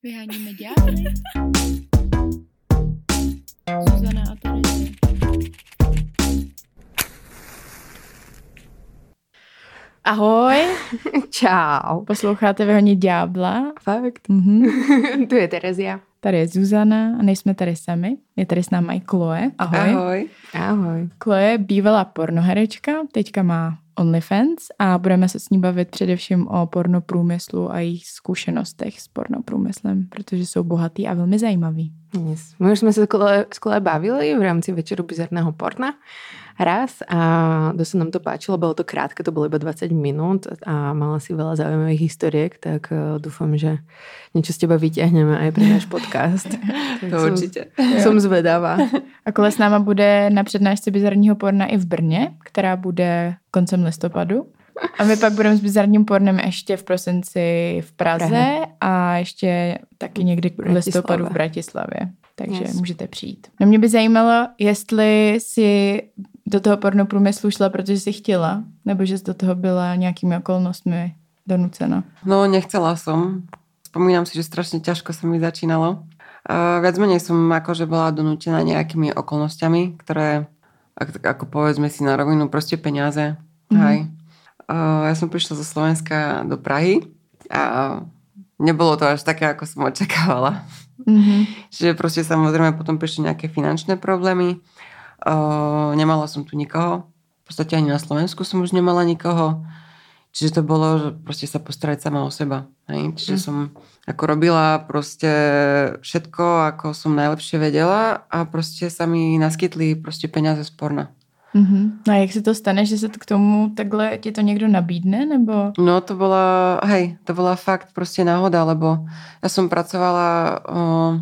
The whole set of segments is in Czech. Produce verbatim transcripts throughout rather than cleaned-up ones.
Vyháníme ďábly. Zuzana a Tereza. Ahoj. Čau. Posloucháte Vyhonit ďábla. Fakt. Mhm. Tu je Terezia. Tady je Zuzana a nejsme tady sami. Je tady s námi Chloe. Ahoj. Ahoj. Ahoj. Chloe je bývalá pornoherečka, teďka má OnlyFans a budeme se s ní bavit především o pornoprůmyslu a jejich zkušenostech s pornoprůmyslem, protože jsou bohatý a velmi zajímavý. Yes. My už sme sa s Chloe bavili v rámci večeru bizarného porna raz a dosť nám to páčilo, bolo to krátke, to bolo iba dvadsať minút a mala si veľa zaujímavých historiek, tak uh, dúfam, že niečo z teba vyťahneme aj pre náš podcast. To som, určite. Som zvedavá. A Chloe s náma bude na přednášce bizarního porna i v Brně, která bude koncem listopadu. A my pak budeme s bizarním pornem ještě v prosinci v Praze Prahe. A ještě taky někdy v listopadu v Bratislavě. Takže yes. Můžete přijít. No mě by zajímalo, jestli si do toho pornoprůmyslu šla, protože si chtěla, nebo že jsi do toho byla nějakými okolnostmi donucena. No, nechcela som. Spomínam si, že strašne ťažko sa mi začínalo. Uh, viac menej som akože bola donútená nejakými okolnostiami, ktoré, ako, ako povedzme si na rovinu, proste peniaze. Mm-hmm. Hej. Uh, ja som prišla zo Slovenska do Prahy a nebolo to až také, ako som očakávala. Mm-hmm. Čiže proste samozrejme potom prišli nejaké finančné problémy. Uh, nemala som tu nikoho. V podstate ani na Slovensku som už nemala nikoho. Čiže to bolo, že proste sa postarať sama o seba. Hej? Čiže mm. som ako robila proste všetko, ako som najlepšie vedela a proste sa mi naskytli proste peniaze z porna. Mm-hmm. A jak se to stane, že se to k tomu takhle ti to někdo nabídne, nebo? No to bola, hej, to bola fakt proste náhoda, lebo ja som pracovala, o,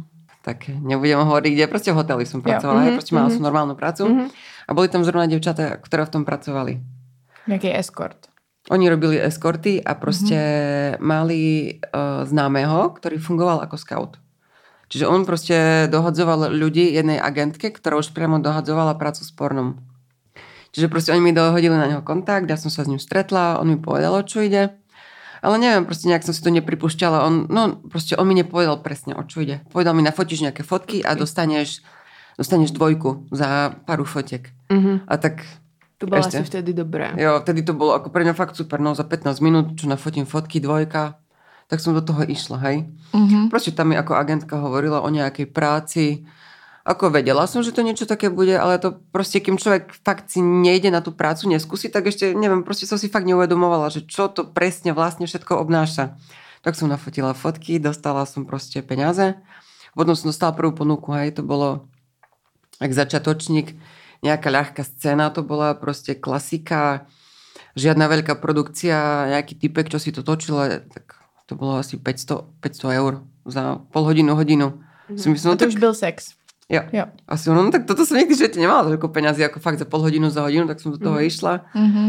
tak nebudem hovoriť, kde, proste v hoteli som pracovala, mm-hmm. hej, proste mala mm-hmm. som normálnu prácu mm-hmm. a boli tam zrovna dievčatá, ktoré v tom pracovali. Jaký escort? Oni robili eskorty a proste mm-hmm. mali uh, známeho, ktorý fungoval ako scout. Čiže on proste dohadzoval ľudí jednej agentke, ktorá už priamo dohadzovala prácu s pornom. Čiže proste oni mi dohodili na neho kontakt, ja som sa s ním stretla, on mi povedal, o čo ide. Ale neviem, proste nejak som si to nepripúšťala. On, no proste on mi nepovedal presne, o čo ide. Povedal mi, nafotíš nejaké fotky a dostaneš, dostaneš dvojku za paru fotiek. Mm-hmm. A tak... To bolo asi vtedy dobré. Jo, vtedy to bolo ako pre mňa fakt super. No za pätnásť minút, čo nafotím fotky, dvojka, tak som do toho išla, hej. Mm-hmm. Proste tam mi ako agentka hovorila o nejakej práci. Ako vedela som, že to niečo také bude, ale to proste, kým človek fakt si nejde na tú prácu, neskúsi, tak ešte, neviem, proste som si fakt neuvedomovala, že čo to presne vlastne všetko obnáša. Tak som nafotila fotky, dostala som proste peniaze. Potom som dostala prvú ponuku, hej, to bolo jak začiatočník, nejaká ľahká scéna, to bola proste klasika, žiadna veľká produkcia, nejaký typek, čo si to točil, tak to bolo asi päťsto, päťsto eur za pol hodinu, hodinu. Mm. Myslím, a to tak... už byl sex. Jo. jo. Asi ono, no tak toto som nikdy v živote nemala toľko peňazí, ako fakt za pol hodinu, za hodinu, tak som do toho mm. išla. Mm-hmm.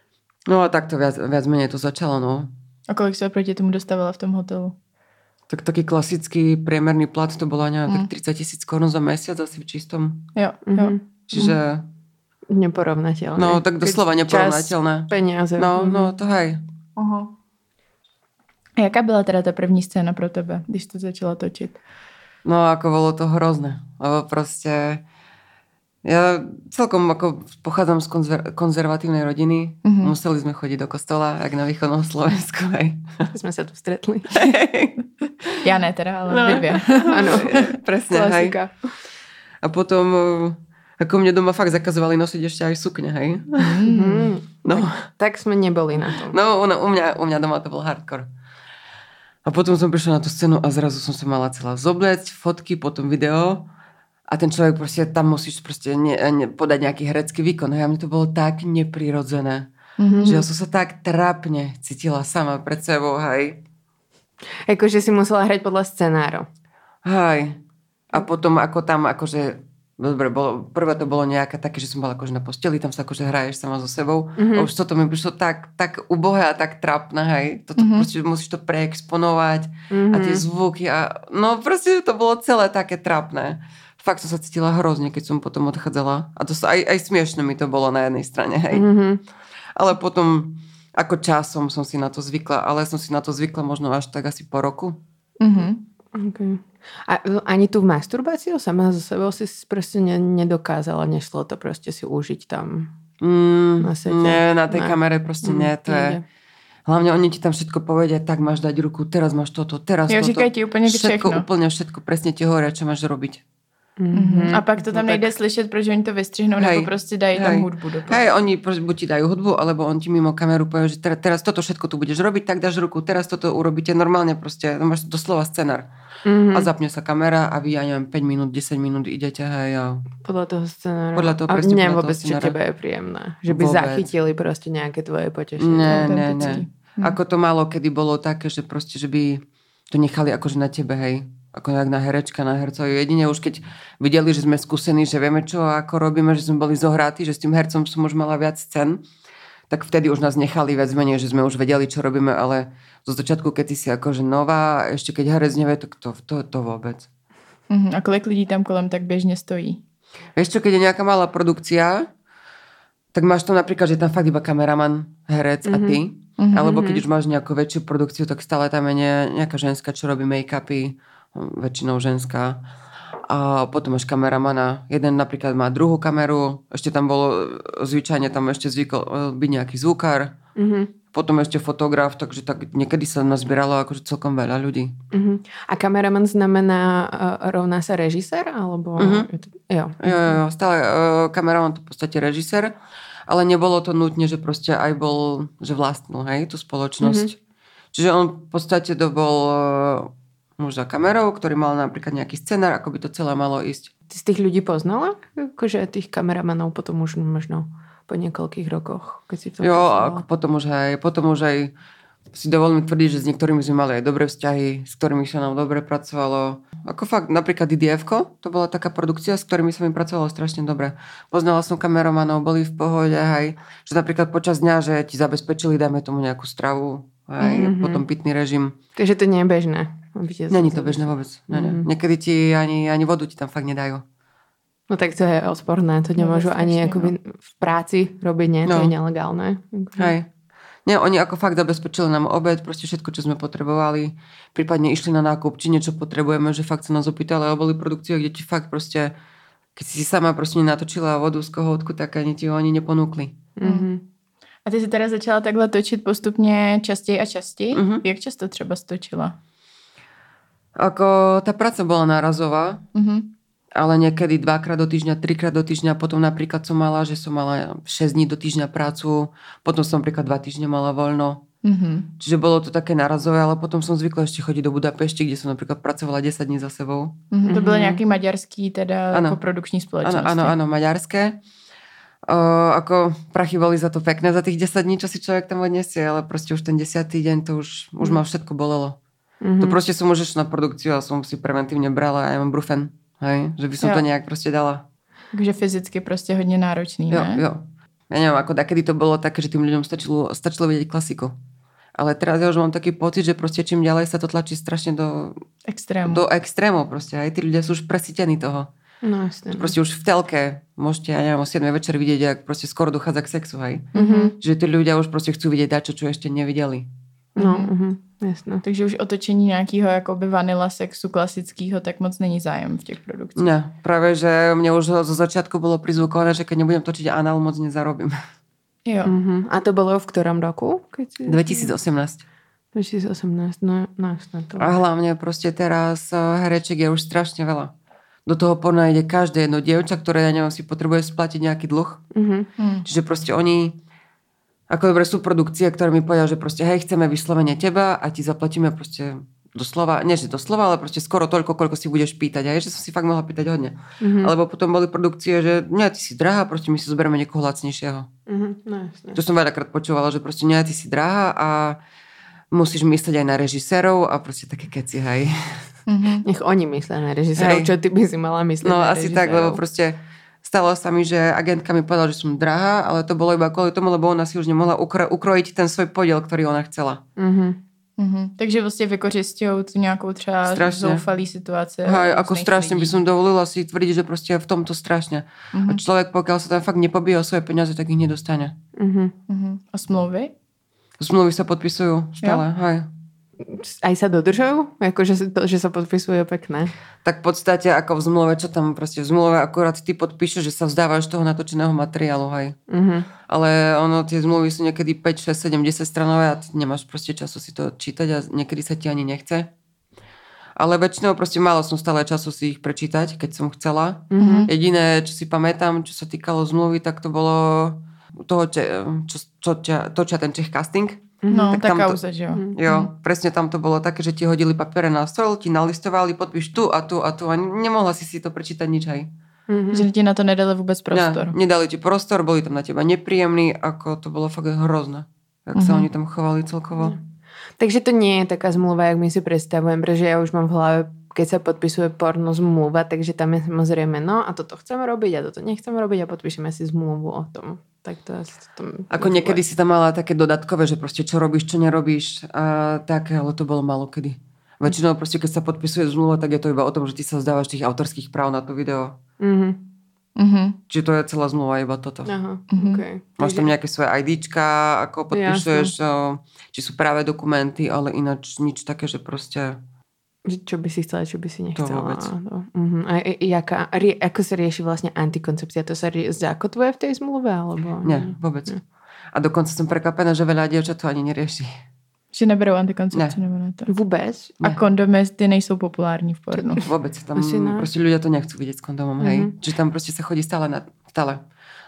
No a tak to viac, viac menej to začalo, no. A kolik sa proti tomu dostávala v tom hotelu? Tak taký klasický priemerný plat, to bola neviem, mm. tak tridsať tisíc korún za mesiac asi v čistom. Jo, jo. Mm-hmm. Čiže... Neporovnateľné. No, tak doslova neporovnateľné. Čas, peniaze. No, mm-hmm. no, to hej. Uh-huh. A jaká byla teda ta první scéna pro tebe, když to začala točit? No, ako bolo to hrozné. Lebo proste... Ja celkom ako pochádzam z konzer- konzervatívnej rodiny. Mm-hmm. Museli sme chodiť do kostola, jak na východnom Slovensku. Hej. Sme sa tu stretli. Ja ne teda, ale no. vy dvě. Áno, presne. Klasika. Hej. A potom... Ako mne doma fakt zakazovali nosiť ešte aj sukne, hej? Mm-hmm. No. Tak, tak sme neboli na tom. No, no u, mňa, u mňa doma to bol hardcore. A potom som prišla na tú scénu a zrazu som sa mala celá zobliecť, fotky, potom video a ten človek proste, tam musíš proste ne, ne, podať nejaký herecký výkon. Hej? A mne to bolo tak neprirodzené, mm-hmm. že ja som sa tak trápne cítila sama pred sebou, hej. Akože si musela hrať podľa scenárov. Hej. A potom ako tam, akože dobre, bolo, prvé to bolo nejaké také, že som bola akože na posteli, tam sa akože hraješ sama so sebou. Mm-hmm. A už toto mi prišlo tak, tak ubohé a tak trápne, hej. Toto mm-hmm. proste musíš to preexponovať mm-hmm. a tie zvuky a no proste to bolo celé také trápne. Fakt som sa cítila hrozne, keď som potom odchádzala. A to sa aj, aj smiešne mi to bolo na jednej strane, hej. Mm-hmm. Ale potom ako časom som si na to zvykla, ale som si na to zvykla možno až tak asi po roku. Mhm. Okay. A ani tú masturbáciu sama so sebou si proste ne, nedokázala, nešlo to proste si užiť tam mm, na sete? Nie, na tej ne. kamere proste mm, nie, to je... Hlavne oni ti tam všetko povedia, tak máš dať ruku, teraz máš toto, teraz jo, toto. Říkají ti úplně všetko, všechno. Úplne všetko, presne ti hovoria, čo máš robiť. Mm-hmm. A pak to tam no, nejde tak... slyšet, protože oni to vystřihnou, hej, nebo prostě dají hej. tam hudbu do toho. Hej, oni buď ti dajú hudbu, alebo on ti mimo kameru povie, že teraz, teraz toto všetko tu budeš robiť, tak dáš ruku, teraz toto urobíte normálne proste, máš doslova scenár. Mm-hmm. A zapne sa kamera a vy, ja neviem, päť minút, desať minút idete, hej. A... Podľa toho scenára. Podľa toho, a presne nie podľa vôbec, toho čo tebe je príjemné. Že by vôbec. zachytili proste nejaké tvoje potešenie. Nie, nie, nie. Hm. Ako to málo kedy bolo také, že proste, že by to nechali akože na tebe, hej. Ako nejak na herečka, na hercovi. Jedine už keď videli, že sme skúsení, že vieme čo a ako robíme, že sme boli zohratí, že s tým hercom som už mala viac scén, tak vtedy už nás nechali viac menej, že sme už vedeli, čo robíme, ale zo začiatku, keď ty si akože nová, ešte keď herec nevie, tak to, to, to vôbec. Uh-huh. A kolik lidí tam kolem tak běžně stojí? Vieš čo, keď je nejaká malá produkcia, tak máš tam napríklad, že tam fakt iba kameraman, herec mm-hmm. a ty. Mm-hmm. Alebo keď už máš nejakú väčšiu produkciu, tak stále tam je nejaká ženská, čo robí make-upy, väčšinou ženská. A potom máš kameramana. Jeden napríklad má druhú kameru, ešte tam bolo, zvyčajne tam ešte zvykol byť nejaký zvukár. Mm-hmm. Potom ešte fotograf, takže tak niekedy sa nazbieralo akože celkom veľa ľudí. Mm-hmm. A kameraman znamená uh, rovná sa režisér? Alebo... Mm-hmm. Jo. Jo, jo, stále uh, kameraman to v podstate režisér, ale nebolo to nutne, že proste aj bol, že vlastnil, hej, tú spoločnosť. Mm-hmm. Čiže on v podstate to bol uh, muž za kamerou, ktorý mal napríklad nejaký scenár, ako by to celé malo ísť. Ty z tých ľudí poznala? Akože tých kameramanov potom už možno po niekoľkých rokoch, keď si to jo, a potom už aj, potom už aj si dovolím tvrdiť, že s niektorými sme mali aj dobré vzťahy, s ktorými sa nám dobre pracovalo. Ako fakt, napríklad í dé efko, to bola taká produkcia, s ktorými sa mi pracovalo strašne dobre. Poznala som kameromanov, boli v pohode, aj, že napríklad počas dňa, že ti zabezpečili, dajme tomu nejakú stravu, aj, mm-hmm. potom pitný režim. Takže to nie je bežné. Není to bežné vôbec. Mm-hmm. Niekedy ti ani, ani vodu ti tam fakt nedajú. No tak to je odporné, to nemôžu no, ani akoby v práci robiť, nie? To no. je nelegálne. Hej. Nie, oni ako fakt zabezpečili nám obed, proste všetko, čo sme potrebovali. Prípadne išli na nákup, či niečo potrebujeme, že fakt sa nás opýtali, ale boli produkcie, kde ti fakt proste, keď si sama proste nenatočila vodu z kohoutku, tak ani ti ho ani neponúkli. Mm-hmm. A ty si teda začala takhle točit postupně častěji a častěji? Mm-hmm. Jak často třeba stočila? Ako tá práca bola nárazová, mm-hmm. ale niekedy dvakrát do týždňa, trikrát do týždňa, potom napríklad som mala, že som mala šesť dní do týždňa prácu, potom som napríklad dva týždne mala voľno. Mm-hmm. Čiže bolo to také nárazové, ale potom som zvykla ešte chodiť do Budapešti, kde som napríklad pracovala desať dní za sebou. Mm-hmm. To bylo nějaký maďarský teda ano. produkční spoločnosti. Áno, áno, áno, maďarské. O, ako prachy boli za to pekné za tých desať dní, čo si človek tam odniesie, ale proste už ten desiatý deň to už, už ma všetko bolelo. Mm-hmm. To proste som už na produkciu a som si preventívne brala a ja mám brufen. Hej, že by som jo. to nejak proste dala. Takže fyzicky proste hodne náročný, jo, ne? Jo, ja neviem, ako dakedy to bolo také, že tým ľuďom stačilo, stačilo vidieť klasiku. Ale teraz ja už mám taký pocit, že proste čím ďalej sa to tlačí strašne do extrému. Do extrému proste. Aj tí ľudia sú už presítení toho. No jasne. Proste už v telke môžete, ja neviem, o siedmej večer vidieť, jak proste skoro dochádza k sexu, hej. Mm-hmm. Že tí ľudia už proste chcú vidieť dačo, čo ešte nevideli. No, uh-huh, jasné. Takže už otočení nějakého jakoby vanila sexu klasického tak moc není zájem v těch produkcích. Ne, práve, že mne už zo začiatku bolo prizvukované, že keď nebudem točiť anál, moc nezarobím. Jo. Uh-huh. A to bolo v ktorom roku? Keď si... dvetisíc osemnásť. dvetisíc osemnásť, no, no jasné. To... A hlavne proste teraz hereček je už strašne veľa. Do toho porna ide každé jedno dievča, ktoré, ja neviem, si potrebuje splatiť nejaký dlh. Uh-huh. Čiže proste oni... Ako dobre sú produkcie, ktoré mi povedia, že proste hej, chceme vyslovene teba a ti zaplatíme proste doslova, nie že doslova, ale proste skoro toľko, koľko si budeš pýtať. A je, že som si fakt mohla pýtať hodne. Mm-hmm. Alebo potom boli produkcie, že nie, ty si drahá, proste my si zoberieme niekoho lacnejšieho. Mm-hmm. No, jasne. To som veľakrát počúvala, že proste nie, ty si drahá a musíš myslieť aj na režisérov a proste také keci, hej. Mm-hmm. Nech oni myslia na režisérov, čo ty by si mala myslieť no, na režisérov. No asi tak, lebo proste stalo sa mi, že agentka mi povedala, že som drahá, ale to bolo iba kvôli tomu, lebo ona si už nemohla ukro- ukrojiť ten svoj podiel, ktorý ona chcela. Mm-hmm. Mm-hmm. Takže vlastne vykořisťujú tu nejakou třeba strašne. Zoufalý situace. Hej, ako strašne lidí. By som dovolila si tvrdiť, že proste v tomto strašne. Mm-hmm. A človek, pokiaľ sa tam fakt nepobíja o svoje peniaze, tak ich nedostane. Mm-hmm. Mm-hmm. A smlouvy? Zmluvy sa podpisujú stále, hej. aj sa dodržujú? Akože to, že sa podpisuje pekné. Tak v podstate ako v zmluve, čo tam proste v zmluve akurát ty podpíšeš, že sa vzdávaš toho natočeného materiálu, hej. Uh-huh. Ale ono, tie zmluvy sú niekedy päť, šesť, sedem, desať stranové a ty nemáš proste času si to čítať a niekedy sa ti ani nechce. Ale väčšinou proste malo som stále času si ich prečítať, keď som chcela. Uh-huh. Jediné, čo si pamätám, čo sa týkalo zmluvy, tak to bolo toho, čo, čo, čo točia ten Czech casting. No, tak taká to, úza, že jo. Jo, mm. presne tam to bolo také, že ti hodili papiere na stôl, ti nalistovali, podpíš tu a tu a tu a nemohla si si to prečítať nič aj. Mm-hmm. Že ti na to nedali vôbec prostor. Ne, nedali ti prostor, boli tam na teba nepríjemní, ako to bolo fakt hrozné. Jak mm-hmm. sa oni tam chovali celkovo. Mm. Takže to nie je taká zmluva, jak my si predstavujem, pretože ja už mám v hlave, keď sa podpisuje porno zmluva, takže tam je samozrejme, no a toto chceme robiť a toto nechceme robiť a podpíšeme si zmluvu o tom. Tak to asi tam... Ako niekedy si tam mala také dodatkové, že proste čo robíš, čo nerobíš a také, ale to bolo málo kedy. Väčšinou proste, keď sa podpisuje zmluva, tak je to iba o tom, že ty sa vzdávaš tých autorských práv na to video. Mhm. Mm-hmm. Čiže to je celá zmluva, iba toto. Aha, mm-hmm. okay. Máš tam nejaké svoje IDčka, ako podpisuješ, o, či sú práve dokumenty, ale ináč nič také, že proste... Čo by si chcela, čo by si nechcela. To vôbec. To, uh-huh. A jaká, rie, ako sa rieši vlastne antikoncepcia? To sa rie, zakotvuje v tej zmluve? Alebo... Nie, vôbec. Nie. A dokonca som prekvapená, že veľa dievčat to ani nerieši. Že neberou antikoncepci? Ne. Nebo na to. Vůbec? A kondomy, ty nejsou populární v pornu? Vôbec. Tam proste ľudia to nechcú vidieť s kondomom. Uh-huh. Hej. Čiže tam proste sa chodí stále na stále.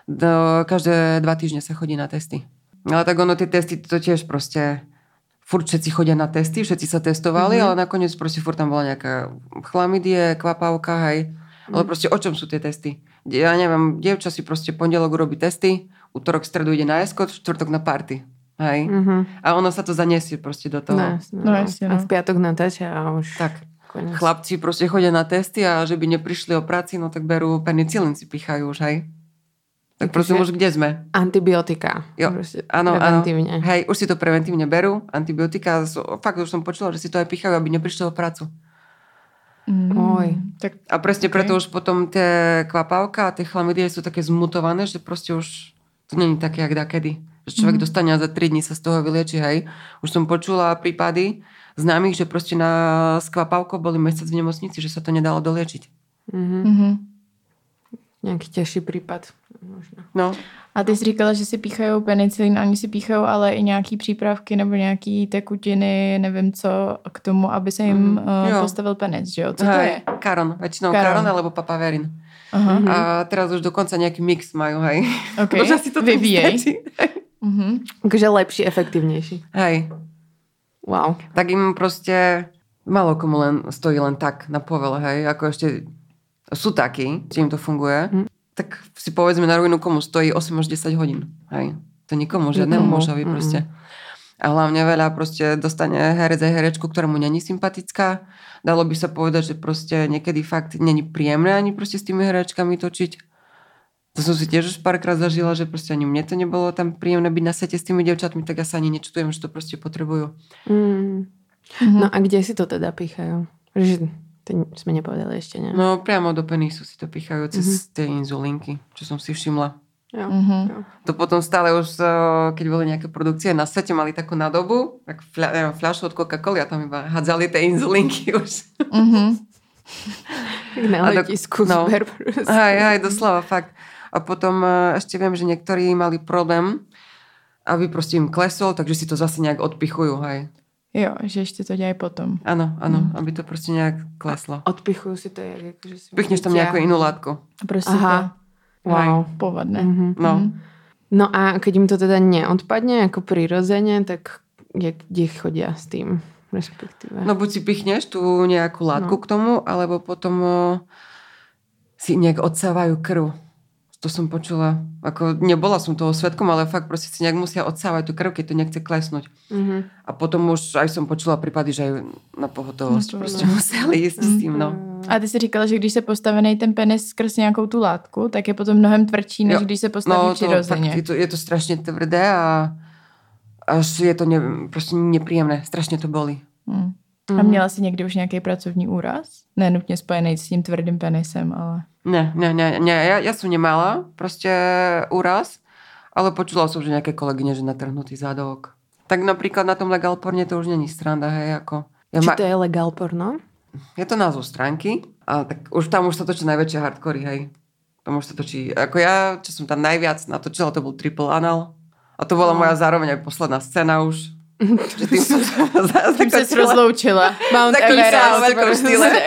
Do, každé dva týždne sa chodí na testy. Ale tak ono, tie testy to tiež proste... Furt všetci chodia na testy, všetci sa testovali, mm-hmm. ale nakoniec proste furt tam bola nejaká chlamydie, kvapavka, hej. Mm-hmm. Ale proste o čom sú tie testy? Ja neviem, dievča si proste pondelok urobí testy, útorok, stredu ide na eskort, štvrtok na party. Hej. Mm-hmm. A ono sa to zaniesie proste do toho. No, no, no. A v piatok natáča a už... Tak. Konec. Chlapci proste chodia na testy a že by neprišli o práci, no tak berú penicilín, si pichajú už, hej. Tak prosím, už kde sme? Antibiotika. Jo, áno, áno. Hej, už si to preventívne berú. Antibiotika, fakt už som počula, že si to aj pichajú, aby neprišli o prácu. Mm. Oj. Tak, a presne okay. Preto už potom tie kvapavka a tie chlamydie sú také zmutované, že proste už to nie je také, jak dakedy. Že človek mm. dostane a za tri dní sa z toho vylieči, hej. Už som počula prípady známych, že proste na skvapavko boli mesiac v nemocnici, že sa to nedalo doliečiť. Mhm. Mm-hmm. Nějaký těžší případ. Možná. No. A ty jsi říkala, že si píchají penicilin, oni si píchají ale i nějaký přípravky nebo nějaký tekutiny, nevím co, k tomu, aby se jim mm. uh, postavil penis, že jo? Co to hej, je? Karon, väčšinou karon, karon alebo papaverin. Aha. A teraz už dokonca nejaký mix majú, hej. Okay. Možná si to vyvíjej. Mhm. Takže lepší, efektivnější. Hej. Wow. Tak im proste málo komu len stojí len tak na povele, hej. Ako ešte sú takí, že im to funguje. Mm. Tak si povedzme na rovinu, komu stojí osem až desať hodín. Hej. To nikomu, žiadnemu mužovi mm. proste. A hlavne veľa proste dostane herec aj herečku, ktorá mu není sympatická. Dalo by sa povedať, že proste niekedy fakt není príjemné ani proste s tými herečkami točiť. To som si tiež už párkrát zažila, že proste ani mne to nebolo tam príjemné byť na sete s tými dievčatmi, tak ja sa ani nečutujem, že to proste potrebujú. Mm. Mm-hmm. No a kde si to teda píchajú? Že to sme nepovedali ešte, ne? No priamo do penisu si to píchajú cez mm-hmm. tie inzulinky, čo som si všimla. Jo. Mm-hmm. To potom stále už, keď boli nejaké produkcie na sete, mali takú nádobu, tak fľa, fľašu od Coca-Coly a tam iba hádzali tie inzulinky už. Mm-hmm. Tak na letisku no, zber. Hej, hej, doslova, fakt. A potom ešte viem, že niektorí mali problém, aby proste im klesol, takže si to zase nejak odpichujú, hej. Jo, že ešte to dělají potom. Áno, áno, mm. aby to proste nejak kleslo. Odpichujú si to, jak, že si... Pichneš tam nejakú inú látku. Proste to wow. povadne. Mm-hmm. No. No a keď im to teda neodpadne ako prirodzene, tak jak, kde chodia s tým? Respektíve. No buď si pichneš tú nejakú látku no. k tomu, alebo potom o, si nejak odsávajú krv. To som počula. Ako nebola som toho svedkom, ale fakt proste si nejak musia odsávať tú krv, keď to nechce klesnúť. Mm-hmm. A potom už aj som počula prípady, že aj na pohotovosť no proste no. museli ísť mm-hmm. s tým, no. A ty si říkala, že když se postavený ten penis skrz nějakou tu látku, tak je potom mnohem tvrdší, než jo. když se postaví no, přirozeně. No, je to, je to strašne tvrdé a až je to ne, proste nepríjemné. Strašne to bolí. Mm. A měla jsi někdy už nějaký pracovní úraz? Ne nutně spojený s tím tvrdým penisem, ale... Ne, ne, ne, ne. Ja, ja som nemala proste úraz, ale počula som, že nejaké kolegyne, že natrhnutý zadok. Tak napríklad na tom Legal Porne to už není sranda, hej, ako... Ja Či ma... to je Legal Porno? Je to názov stránky, ale tak už tam už sa točí najväčšie hardcory, hej. Tam už sa točí... Ako ja, čo som tam najviac natočila, to bol Triple Anal. A to bola no. moja zároveň aj posledná scéna už. Že tým som sa Tým sa rozloučila. Mount Everest.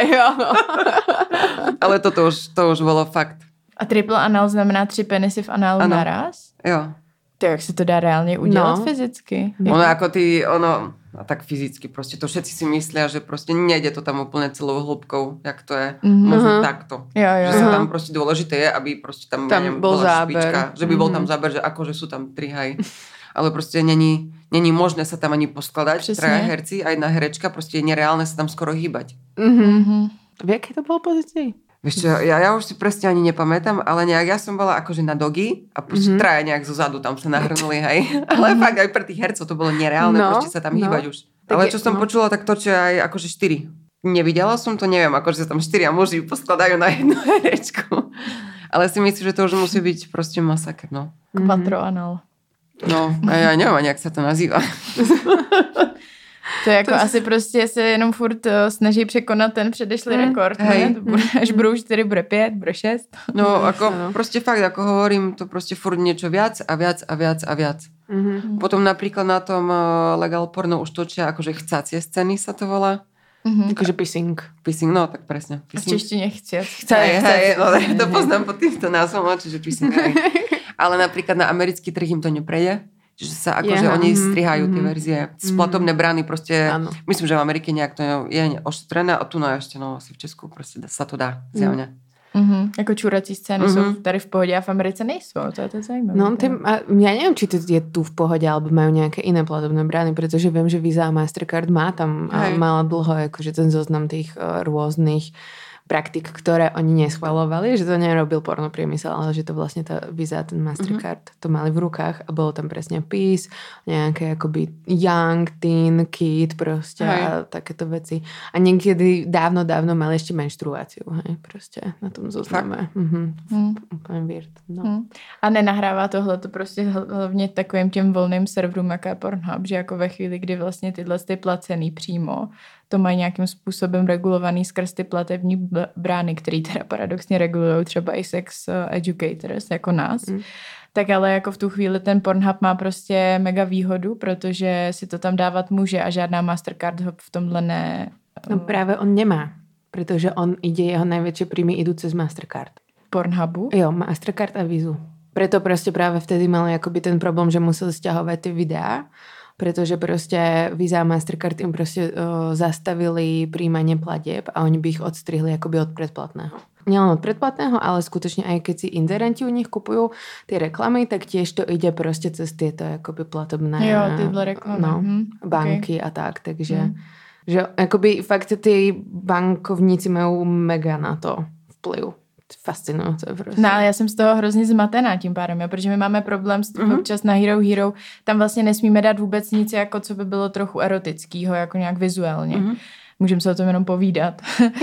Ale toto už, to už bolo fakt. A triple anal znamená tři penisy v análu ano. naraz? Jo. To jak se to dá reálně udělat no. fyzicky? Ono ako ty, ono, a tak fyzicky proste, to všetci si myslia, že proste nejde to tam úplne celou hĺbkou, jak to je, mm-hmm. možno takto. Jo, jo, že jo. sa tam proste dôležité je, aby proste tam, tam neviem, bol bola záber. špička, že by bol mm-hmm. tam záber, že akože sú tam tri haj. Ale proste není, není možné sa tam ani poskladať, traja herci a jedna herečka, proste je nereálne sa tam skoro hýbať. Mm-hmm. V jakej to bolo pozícii? Vieš čo, ja, ja už si presne ani nepamätám, ale nejak ja som bola akože na dogy a proste mm-hmm. traja nejak zozadu tam sa nahrnuli, hej. Ale fakt aj pre tých hercov to bolo nereálne, no, proste sa tam no. hýbať už. Tak ale čo je, som no. počula, tak to, čo aj akože štyri. Nevidela som to, neviem, akože sa tam štyria muži poskladajú na jednu herečku. Ale si myslím, že to už musí byť proste masaker, no. Quattroanal. No, a ja neviem ani, jak sa to nazýva. To je jako to asi prostě se jenom furt snaží překonat ten předešlý mm. rekord. Ne? To bude, až budou čtyři, bude pět, bude šest. No, ako no. proste fakt, ako hovorím, to proste furt niečo viac a viac a viac a viac. Mm-hmm. Potom napríklad na tom Legal Porno už točia akože chcacie scény sa to volá. Mm-hmm. Takže pissing. Pissing, no tak presne. V češtine chciac. Hej, hej, no, to poznám pod týmto názvom, čiže pissing. Hej. Ale napríklad na americký trh im to neprejde. Čiže sa akože yeah. oni strihajú mm-hmm. tie verzie. Splatobné brány proste, ano. Myslím, že v Amerike nejak to je ošetrené a tu no ešte, no asi v Česku proste sa to dá, zjavne. Mm-hmm. Jako čurací scény mm-hmm. jsou tady v pohodě a v Americe nejsou, to je to zajímavé. No, tým, a ja neviem, či to je tu v pohode, alebo majú nejaké iné platobné brány, pretože viem, že Visa a Mastercard má tam, a mala dlho akože ten zoznam tých uh, rôznych praktik, ktoré oni neschvalovali, že to nerobil pornopriemysel, ale že to vlastne tá Visa a ten Mastercard mm-hmm. to mali v rukách a bolo tam presne pís, nejaké akoby young, teen, kid proste hej. A takéto veci. A niekedy dávno, dávno mali ešte menštruáciu, hej, proste na tom zozname. Mm-hmm. Mm. Úplne weird. No. Mm. A nenahrává tohle to prostě hlavně takovým těm volným serverům, jako je Pornhub, že jako ve chvíli, kdy vlastně tyhle ty placený přímo, to mají nějakým způsobem regulovaný skrz ty platební brány, který teda paradoxně regulují třeba i sex educators jako nás. Mm. Tak ale jako v tu chvíli ten Pornhub má prostě mega výhodu, protože si to tam dávat může a žádná Mastercard ho v tomhle ne... No právě on nemá, protože on ide, jeho najväčšie príjmy idú cez Mastercard. Pornhubu? Jo, Mastercard a Visu. Preto prostě práve vtedy mali akoby ten problém, že museli stiahovať tie videá, pretože proste Visa a Mastercard im proste uh, zastavili príjmanie platieb a oni by ich odstrihli akoby od predplatného. Nielen od predplatného, ale skutočne aj keď si inzerenti u nich kupujú tie reklamy, tak tiež to ide proste cez tieto akoby platobné jo, tyhle reklamy. No, hm, banky okay. a tak, takže hm. že akoby fakt tí bankovníci majú mega na to vplyv. Fascinujúce. No ale já jsem z toho hrozně zmatená tím pádem, jo, protože my máme problém s tím mm-hmm. občas na Hero Hero, tam vlastně nesmíme dát vůbec nic, jako co by bylo trochu erotického, jako nějak vizuálně. Mm-hmm. Můžeme se o tom jenom povídat.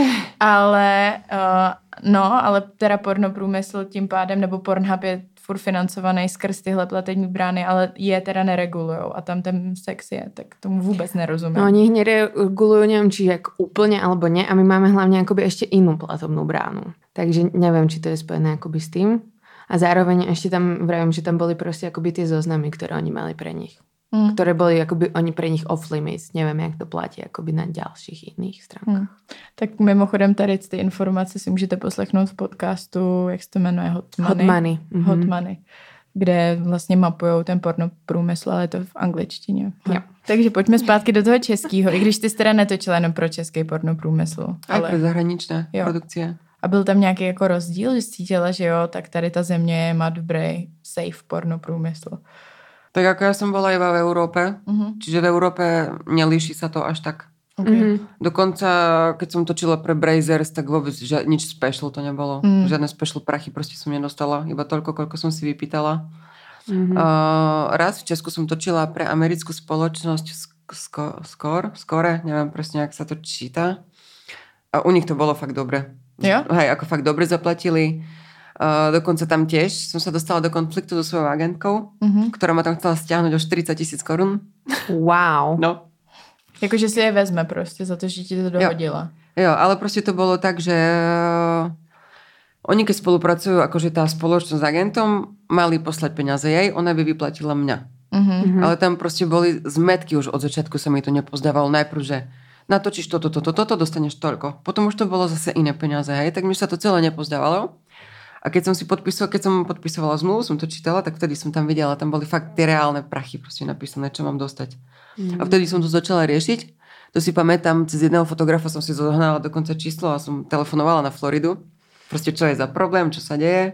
ale uh, no, ale teda pornoprůmysl tím pádem, nebo Pornhub je furt financovaný skrz tyhle platební brány, ale je teda neregulujou a tam ten sex je, tak tomu vůbec nerozumím. No oni ich neregulujú, neviem, či jak úplne alebo nie a my máme hlavne akoby ešte inú platobnú bránu. Takže neviem, či to je spojené akoby s tým. A zároveň ešte tam vravím, že tam boli proste akoby tie zoznamy, ktoré oni mali pre nich. Mm. Ktoré boli akoby oni pre nich off limits. Neviem, jak to platí akoby na ďalších iných stránkach. Mm. Tak mimochodem tady ty informace si můžete poslechnout v podcastu, jak se to jmenuje, Hot Money. Hot Money. Mm-hmm. Hot Money. Kde vlastně mapujou ten pornoprůmysl, ale je to v angličtině. Jo. Takže pojďme zpátky do toho českého, i když ty jsi teda netočila jenom pro český pornoprůmysl. Ale pro zahraničné jo. produkcie. A byl tam nějaký jako rozdíl, že cítila, že jo, tak tady ta země má dobrý safe pornoprůmysl. Tak ako ja som bola iba v Európe, uh-huh. čiže v Európe nelíši sa to až tak. Okay. Uh-huh. Dokonca, keď som točila pre Brazers, tak vôbec že, nič special to nebolo. Uh-huh. Žiadne special prachy proste som nedostala. Iba toľko, koľko som si vypýtala. Uh-huh. Uh, raz v Česku som točila pre americkú spoločnosť Score, Score, Score, neviem presne, jak sa to číta. A u nich to bolo fakt dobre. Jo? Hej, ako fakt dobre zaplatili. Uh, dokonca tam tiež som sa dostala do konfliktu so svojou agentkou, mm-hmm. ktorá ma tam chcela stiahnuť o štyridsať tisíc korun. Wow. No. Jakože si je vezme prostě za to, že ti to dohodila. Jo, jo, ale proste to bolo tak, že uh, oni keď spolupracujú, akože tá spoločnosť s agentom, mali poslať peniaze jej, ona by vyplatila mňa. Mm-hmm. Ale tam proste boli zmetky, už od začiatku sa mi to nepozdávalo. Najprv, že natočíš toto, toto, toto, dostaneš toľko. Potom už to bolo zase iné peniaze, hej, tak mi sa to celé nepozdávalo. A keď som si podpisovala, keď som podpisovala zmluvu, som to čítala, tak vtedy som tam videla, tam boli fakt tie reálne prachy proste napísané, čo mám dostať. Mm. A vtedy som to začala riešiť. To si pamätám, cez jedného fotografa som si zohnala dokonca číslo a som telefonovala na Floridu. Proste čo je za problém, čo sa deje.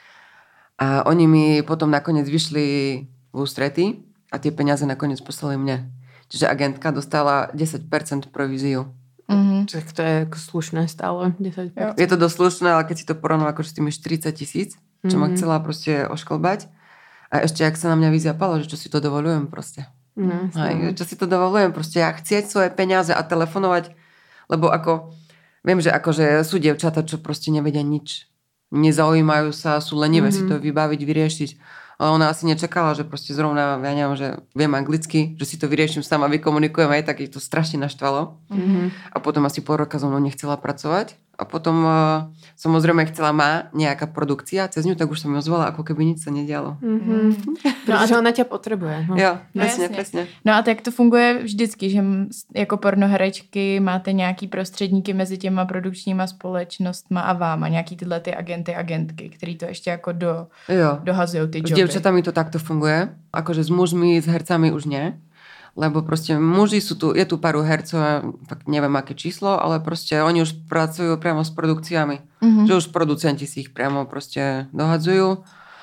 A oni mi potom nakoniec vyšli v ústrety a tie peniaze nakoniec poslali mne. Čiže agentka dostala desať percent províziu. Mm-hmm. Čiže to je slušné stále, desať percent. Je to dosť slušné, ale keď si to porovnám akože s tými štyridsať tisíc, čo mm-hmm. ma chcela proste oškolbať. A ešte, ak sa na mňa vyziapalo, že čo si to dovolujem proste. Mm-hmm. Aj, čo si to dovolujem proste, ja chcieť svoje peniaze a telefonovať, lebo ako, viem, že akože sú dievčatá, čo proste nevedia nič. Nezaujímajú sa, sú lenivé mm-hmm. si to vybaviť, vyriešiť. Ale ona asi nečakala, že proste zrovna, ja neviem, že viem anglicky, že si to vyrieším sama, vykomunikujem aj, tak ich to strašne naštvalo. Mm-hmm. A potom asi pol roka so mnou nechcela pracovať. A potom uh, samozrejme chcela má nejaká produkcia, cez ňu tak už som ju ozvala, ako keby nič sa nedialo. Mm-hmm. No a že ona ťa potrebuje. No. Jo, presne, no, presne. No a tak to funguje vždycky, že jako pornoherečky máte nějaký prostředníky mezi těma produkčníma společnostma a váma, nějaký tyhle ty agenty, agentky, který to ještě jako do, dohazují ty joby. S dievčatami to takto funguje, akože s mužmi, s hercami už nie. Lebo proste muži sú tu, je tu pár hercov, tak neviem aké číslo, ale proste oni už pracujú priamo s produkciami. Mm-hmm. Že už producenti si ich priamo proste dohadzujú.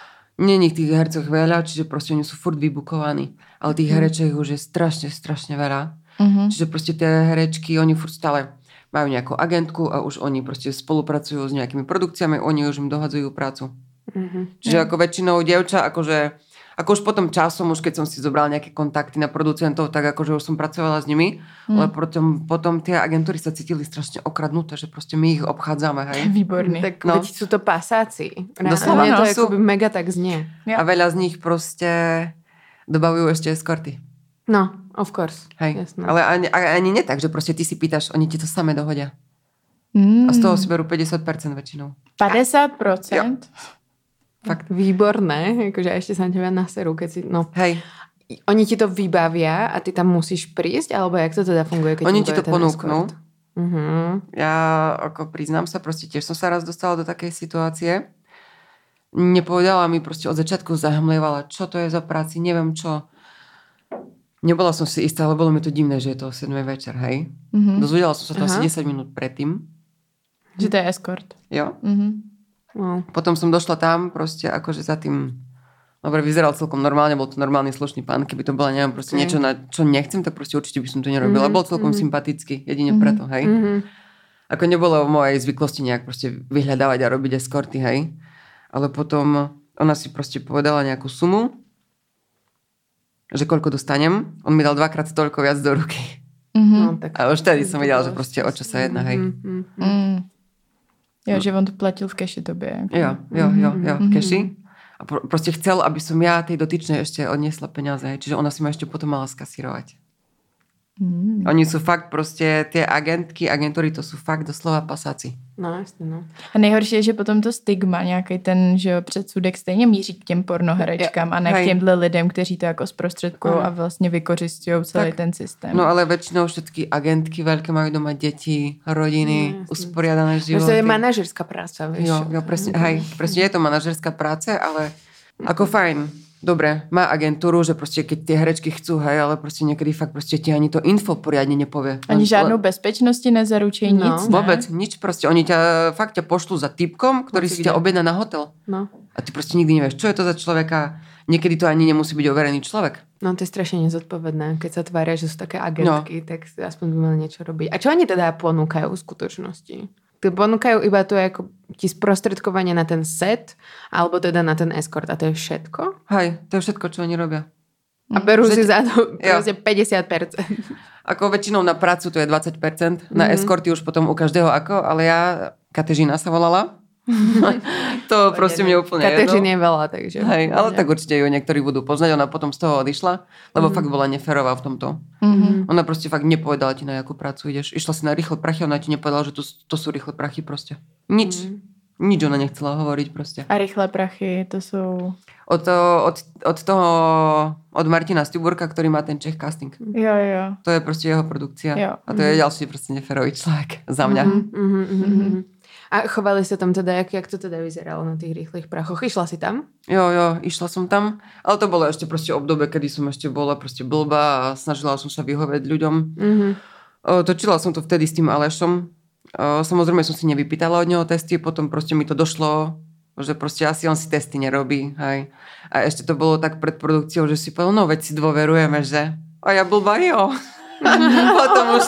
Není tých hercov veľa, čiže proste oni sú furt vybukovaní. Ale tých mm-hmm. herečiek už je strašne, strašne veľa. Mm-hmm. Čiže proste tie herečky, oni furt stále majú nejakú agentku a už oni proste spolupracujú s nejakými produkciami, oni už im dohadzujú prácu. Mm-hmm. Čiže ako väčšinou dievča, akože ako už potom časom, už keď som si zobrala nejaké kontakty na producentov, tak akože už som pracovala s nimi, mm. ale potom, potom tie agentúry sa cítili strašne okradnuté, že proste my ich obchádzame, hej. Výborný. Tak no. Veď sú to pasáci. Doslova. Mne to sú... akoby mega tak znie. A veľa z nich proste dobavujú ešte eskorty. No, of course. Hej. Jasné. Ale ani, ani nie tak, že proste ty si pýtaš, oni ti to samé dohodia. Mm. A z toho si berú päťdesiat percent väčšinou. päťdesiat percent? Ja. Fakt výborné, akože ešte sa na teba naserú, keď si, no. Hej. Oni ti to vybavia a ty tam musíš prísť, alebo jak to teda funguje? Keď oni ti to ponúknú. Uh-huh. Ja ako priznám sa, proste tiež som sa raz dostala do takej situácie. Nepovedala mi proste od začiatku, zahmlievala, čo to je za práci, neviem čo. Nebola som si istá, ale bolo mi to divné, že je to o siedmej večer, hej. Uh-huh. Dozvedela som sa to uh-huh. asi desať minút predtým. Že to je escort. Jo. Mhm. No. Potom som došla tam proste akože za tým, dobre, vyzeral celkom normálne, bol to normálny slušný pán, keby to bola, neviem, proste okay. niečo, na čo nechcem, tak proste určite by som to nerobila. Mm-hmm. Bol celkom mm-hmm. sympatický, jedine mm-hmm. preto, hej. Mm-hmm. Ako nebolo v mojej zvyklosti nejak proste vyhľadávať a robiť eskorty, hej. Ale potom ona si proste povedala nejakú sumu, že koľko dostanem. On mi dal dvakrát toľko viac do ruky. Mm-hmm. No, tak a už tedy som videla, že proste o čo sa jedná, hej. Mm-hmm. Mm. Jo, no. Že on to platil v keši tobě. Jako. Jo, jo, jo, jo, v keši. A pro, proste chcel, aby som ja tej dotyčnej ešte odniesla peniaze. Čiže ona si ma ešte potom mala skasírovať. Mm. Oni sú fakt proste, tie agentky, agentúry, to sú fakt doslova pasáci. No, jasně, no. A nejhorší je, že potom to stigma, nějaký ten, že předsudek stejně míří k těm pornoherečkám a ne Hej. k těmhle lidem, kteří to jako zprostředkují a vlastně vykořistují celý tak, ten systém. No ale väčšinou všetky agentky veľké majú doma deti, rodiny, no, usporiadané životy. To je manažerská práca, vieš. Jo, jo, presne, hej, presne je to manažerská práca, ale ako fajn. Dobre, má agentúru, že proste keď tie herečky chcú, hej, ale proste niekedy fakt proste ti ani to info poriadne nepovie. Ani žádnou le... bezpečnosti nezaručí, no. nic, ne? Vôbec, nič proste. Oni ťa fakt ťa pošlú za typkom, ktorý si ťa objedná na hotel. No. A ty proste nikdy nevieš, čo je to za človeka. Niekedy to ani nemusí byť overený človek. No to je strašne nezodpovedné. Keď sa tvária, že sú také agentky, no. tak aspoň by mali niečo robiť. A čo oni teda ponúkajú v skutočnosti? Ponúkajú iba to ako ti sprostredkovanie na ten set, alebo teda na ten escort a to je všetko? Hej, to je všetko, čo oni robia. A berú že si za to proste päťdesiat percent. Ako väčšinou na prácu to je dvadsať percent, mm-hmm. na escorty už potom u každého ako, ale ja, Katežina sa volala, To proste mne úplne jedno. Kateřiny je veľa, takže... Hej, ale tak určite ju niektorí budú poznať. Ona potom z toho odišla, lebo mm. fakt bola neférová v tomto. Mm-hmm. Ona proste fakt nepovedala ti, na jakú prácu ideš. Išla si na rýchle prachy, ona ti nepovedala, že to, to sú rýchle prachy proste. Nič. Mm. Nič ona nechcela hovoriť proste. A rýchle prachy, to sú... Od, to, od, od toho, od Martina Stúburka, ktorý má ten Czech casting. Jo, jo. To je proste jeho produkcia. Jo. A to mm. je ďalší proste neférový človek za mňa. Mm-hmm, mm-hmm, mm-hmm. A chovali sa tam teda, jak, jak to teda vyzeralo na tých rýchlych prachoch? Išla si tam? Jo, jo, išla som tam. Ale to bolo ešte proste obdobie, kedy som ešte bola proste blbá a snažila som sa vyhovieť ľuďom. Mm-hmm. O, točila som to vtedy s tým Alešom. O, samozrejme som si nevypýtala od neho testy, potom proste mi to došlo, že proste asi on si testy nerobí. Hej. A ešte to bolo tak pred produkciou, že si povedal, no veď si dôverujeme, že? A ja blbá, jo. potom už...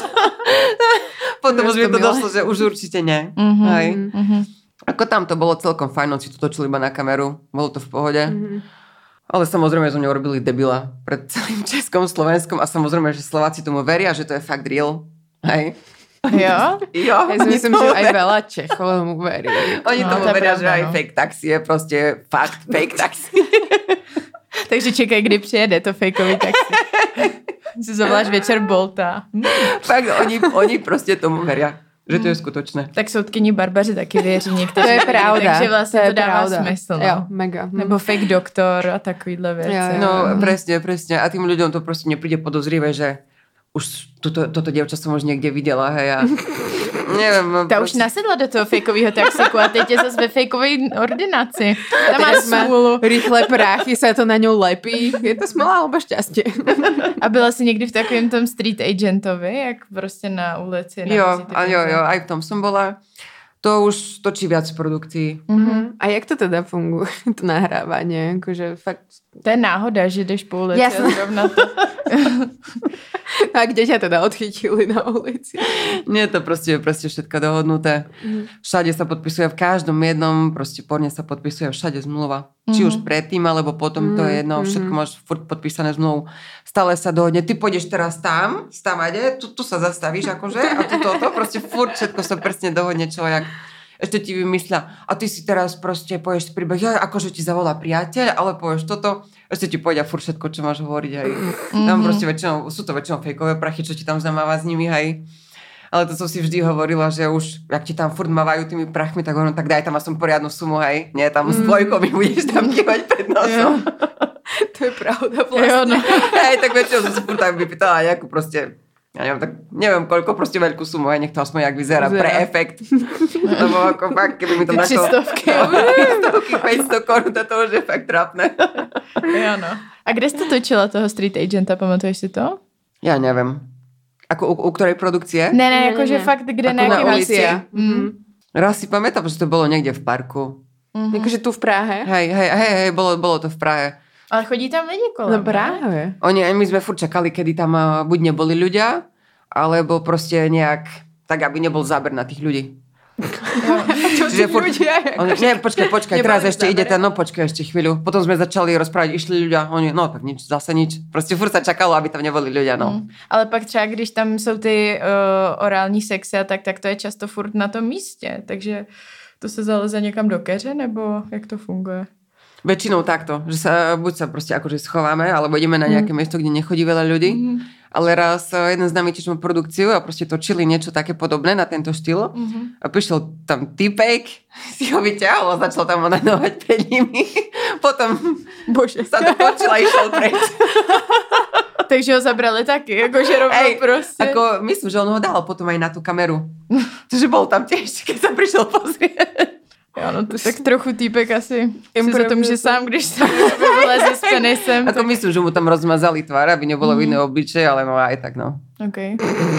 Potom už mi to došlo, že už určite nie. Mm-hmm, Hej. Mm-hmm. Ako tam to bolo celkom fajn, on si to točil iba na kameru. Bolo to v pohode. Mm-hmm. Ale samozrejme, že mňa urobili debila pred celým Českom, Slovenskom a samozrejme, že Slováci tomu veria, že to je fakt real. Hej. Jo? Jo. Ja si myslím, že aj veľa Čechov mu verí. Oni no, tomu to veria, pravda, že aj no. fake taxi je proste fakt fake taxi. Takže čekaj, kdy přijede to fejkový taxi. Si zavoláš večer Bolta. Fakt, oni, oni proste tomu veria, že to je skutočné. Tak soudkyni Barbaři taky věří někteří. To je pravda. Takže vlastně to, to dává pravda. smysl. No. Jo, mega. Hm. Nebo fake doktor a takovýhle věci. Jo, jo. No, presne, presne. A tým ľuďom to proste nepríde podozrivé, že už toto, toto dievča som už niekde videla, hej, a neviem. Ta už nasedla do toho fejkového taxiku a teď je zase ve fejkové ordinaci. Tam má smůlu. Rýchle práchy sa to na ňu lepí. Je to smola alebo šťastie? A byla jsi někdy v takovém tom street agentovi, jak prostě na ulici? Na Jo, a jo, jo, aj v tom som bola. To už točí viac produkcií. Mm-hmm. A jak to teda funguje, to nahrávanie? Akože fakt... To je náhoda, že jdeš po ulici Jasne. a zrovna to... A kde ťa teda odchytili na ulici? Nie, to proste je proste všetko dohodnuté. Mm. Všade sa podpisuje, v každom jednom proste porne sa podpisuje všade zmluva. Mm. Či už predtým, alebo potom, mm. to je jedno, všetko máš furt podpísané zmluvu. Stále sa dohodne, ty pôjdeš teraz tam, stávade, tu, tu sa zastavíš akože, a tu toto, proste furt všetko sa presne dohodne, čo jak. Ešte ti vymyslia, a ty si teraz proste povieš príbeh, ja, akože ti zavolá priateľ, ale povieš toto, ešte ti povedia furt všetko, čo máš hovoriť, hej. Mm-hmm. Tam proste väčšinou, sú to väčšinou fejkové prachy, čo ti tam zamáva s nimi, hej. Ale to som si vždy hovorila, že už, ak ti tam furt mávajú tými prachmi, tak hovorím, tak daj tam aspoň poriadnu sumu, hej. Nie, tam mm. s dvojkou mi budeš tam kývať pred nosom. To je pravda vlastne. Jo, no. Hej, tak väčšinou som si furt tak vypýtala nejakú proste, ja neviem, tak neviem, koľko proste veľkú sumu, aj nech to aspoň jak vyzerá, vyzerá. Pre efekt. Lebo ako fakt, keby mi to našlo... Třistovky. Třistovky, päťsto korun, to už je fakt trápne. Jo, no. A kde jste točila toho street agenta, pamatuješ si to? Ja neviem. Ako u, u ktorej produkcie? Ne, ne, jakože fakt, kde ako na na jaký ulici. Mm. Raz si pamätám, že to bolo niekde v parku. Mm-hmm. Jakože tu v Prahe? Hej, hej, hej, hej bolo, bolo to v Prahe. Ale chodí tam lidi kolem. No práve. Oni, my sme furt čakali, kedy tam buď neboli ľudia, alebo proste nejak, tak aby nebol záber na tých ľudí. Čo tí furt... ľudia? Oni, nie, počkaj, počkaj, teraz ešte ide ten, no počkaj ešte chvíľu. Potom sme začali rozprávať, išli ľudia, oni, no tak nič, zase nič. Proste furt sa čakalo, aby tam neboli ľudia, no. Mm. Ale pak třeba, když tam jsou ty uh, orální sexy a tak, tak to je často furt na tom místě. Takže to se zaleze někam do keře, nebo jak to funguje? Väčšinou takto, že sa, buď sa proste akože schováme, alebo ideme na nejaké mm. miesto, kde nechodí veľa ľudí. Mm. Ale raz jeden z nami tiež má produkciu a proste točili niečo také podobné na tento štýl. Mm-hmm. A prišiel tam týpek, si ho vyťahol a začal tam onanovať pred nimi. Potom Bože. Sa to počula a išiel preč. Takže ho zabrali taky, akože rovno proste. Ako, myslím, že on ho dal potom aj na tú kameru. Takže bol tam tiež, keď sa prišiel pozrieť. Jo, no to tak trochu týpek asi si za to může sám, když se vyleze s penisem. Ako tak... myslím, že mu tam rozmazali tvár, aby nebolo mm. iné obličeje, ale no aj tak, no. OK.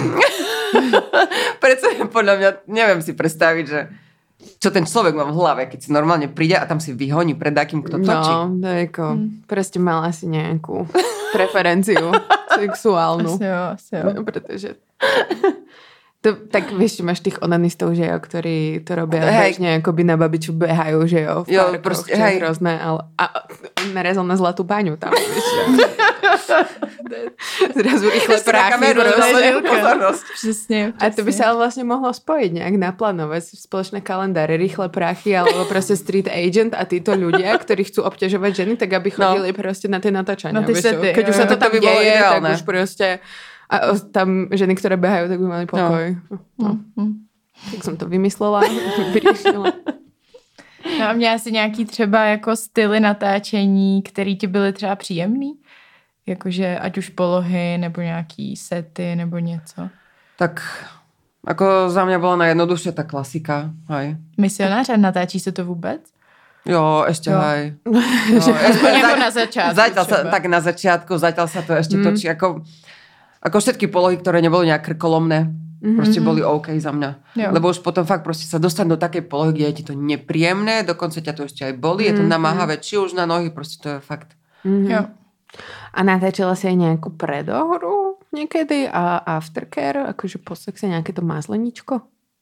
Preto podľa mňa, neviem si predstaviť, že čo ten človek má v hlave, keď si normálne príde a tam si vyhoní pred takým, kto točí. No, to je ako, mm. proste mala si nejakú preferenciu sexuálnu. Asi jo, asi jo. Pretože... To, tak vieš, máš tých onanistov, že jo, ktorí to robia bežne, akoby na babiču behajú, že jo, v jo, parkoch, proste, čo je hej. hrozné, ale a, narezal na Zlatú baňu tam, vieš, zrazu rýchle práchy, pozornosť. Přesně, přesně. A to by sa ale vlastne mohlo spojiť nejak, naplánovať spoločné kalendáre, rýchle práchy, alebo proste street agent a títo ľudia, ktorí chcú obťažovať ženy, tak aby chodili no. proste na tie natáčania. Na ty sety. Keď už sa to to tam by bolo deje, ideálne. tak už proste a tam ženy, ktoré behajú, tak by mali pokoj. No. No. Mm. Tak jsem to vymyslela, vyřešila. No a měla jsi nějaký třeba jako styly natáčení, který ti byly třeba příjemný? Jakože ať už polohy, nebo nějaký sety, nebo něco. Tak ako za mňa bola najjednoduchšia tá klasika. Hej. Misionář a natáčí se to vůbec? Jo, ešte Jo. hej. No, jako na začátku Zatiaľ sa, třeba. tak na začiatku, zatiaľ sa to ešte Mm. točí. Ako, ako všetky polohy, ktoré neboli nejak krkolomné, Mhm. proste boli OK za mňa. Jo. Lebo už potom fakt proste sa dostať do takej polohy, kde je ti to nepríjemné, dokonca ťa to ešte aj boli, je to Mhm. namáhavé, či už na nohy, proste to je fakt. Mhm. Jo. A natáčala si aj nejakú predohru niekedy a aftercare, akože po sexe nejaké to mazleničko?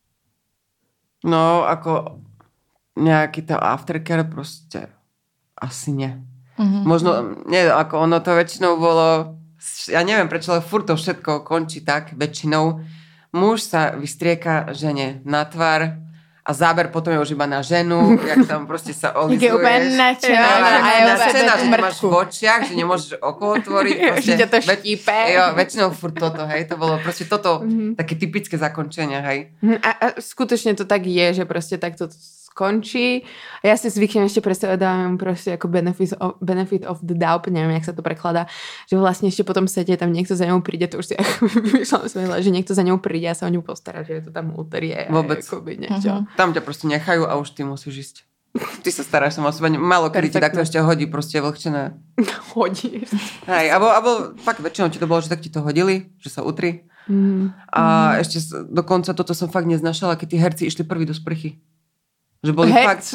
No, ako nejaký to aftercare proste asi nie. Mhm. Možno, nie, ako ono to väčšinou bolo, ja neviem prečo, ale furt to všetko končí tak, väčšinou. Muž sa vystrieka žene na tvár a záber potom je už iba na ženu, jak tam proste sa Jak je úplně olizuješ. nadšená, Jo, že a je je úplně nadšená, že mrtku. máš v očiach, že nemôžeš oko otvoriť. Proste, Že ťa to väč- štípe. Jo, väčšinou furt toto, hej, to bolo proste toto, Mhm. také typické zakončenie, hej. A, a skutočne to tak je, že proste takto skončí. A ja si zvyknem ešte predstavať, dávam proste ako benefit of, benefit of the doubt, neviem, jak sa to prekladá, že vlastne ešte potom sete tam niekto za ňou príde, to už si ako vymýšľam svojhle, že niekto za ňou príde a sa o ňu postará, že je to tam utrie. Vôbec. Akoby niečo. Mhm. Tam ťa proste nechajú a už ty musíš ísť. Ty sa staráš sama o seba. Málo kedy ti Perfektné. takto ešte hodí, proste je vlhčené. Hodí. Hej, alebo, alebo fakt väčšinou ti to bolo, že tak ti to hodili, že sa utri. Mm. A ešte s- dokonca toto som fakt neznašala, keď tí herci išli prví do sprchy. Že boli Herc- fakt...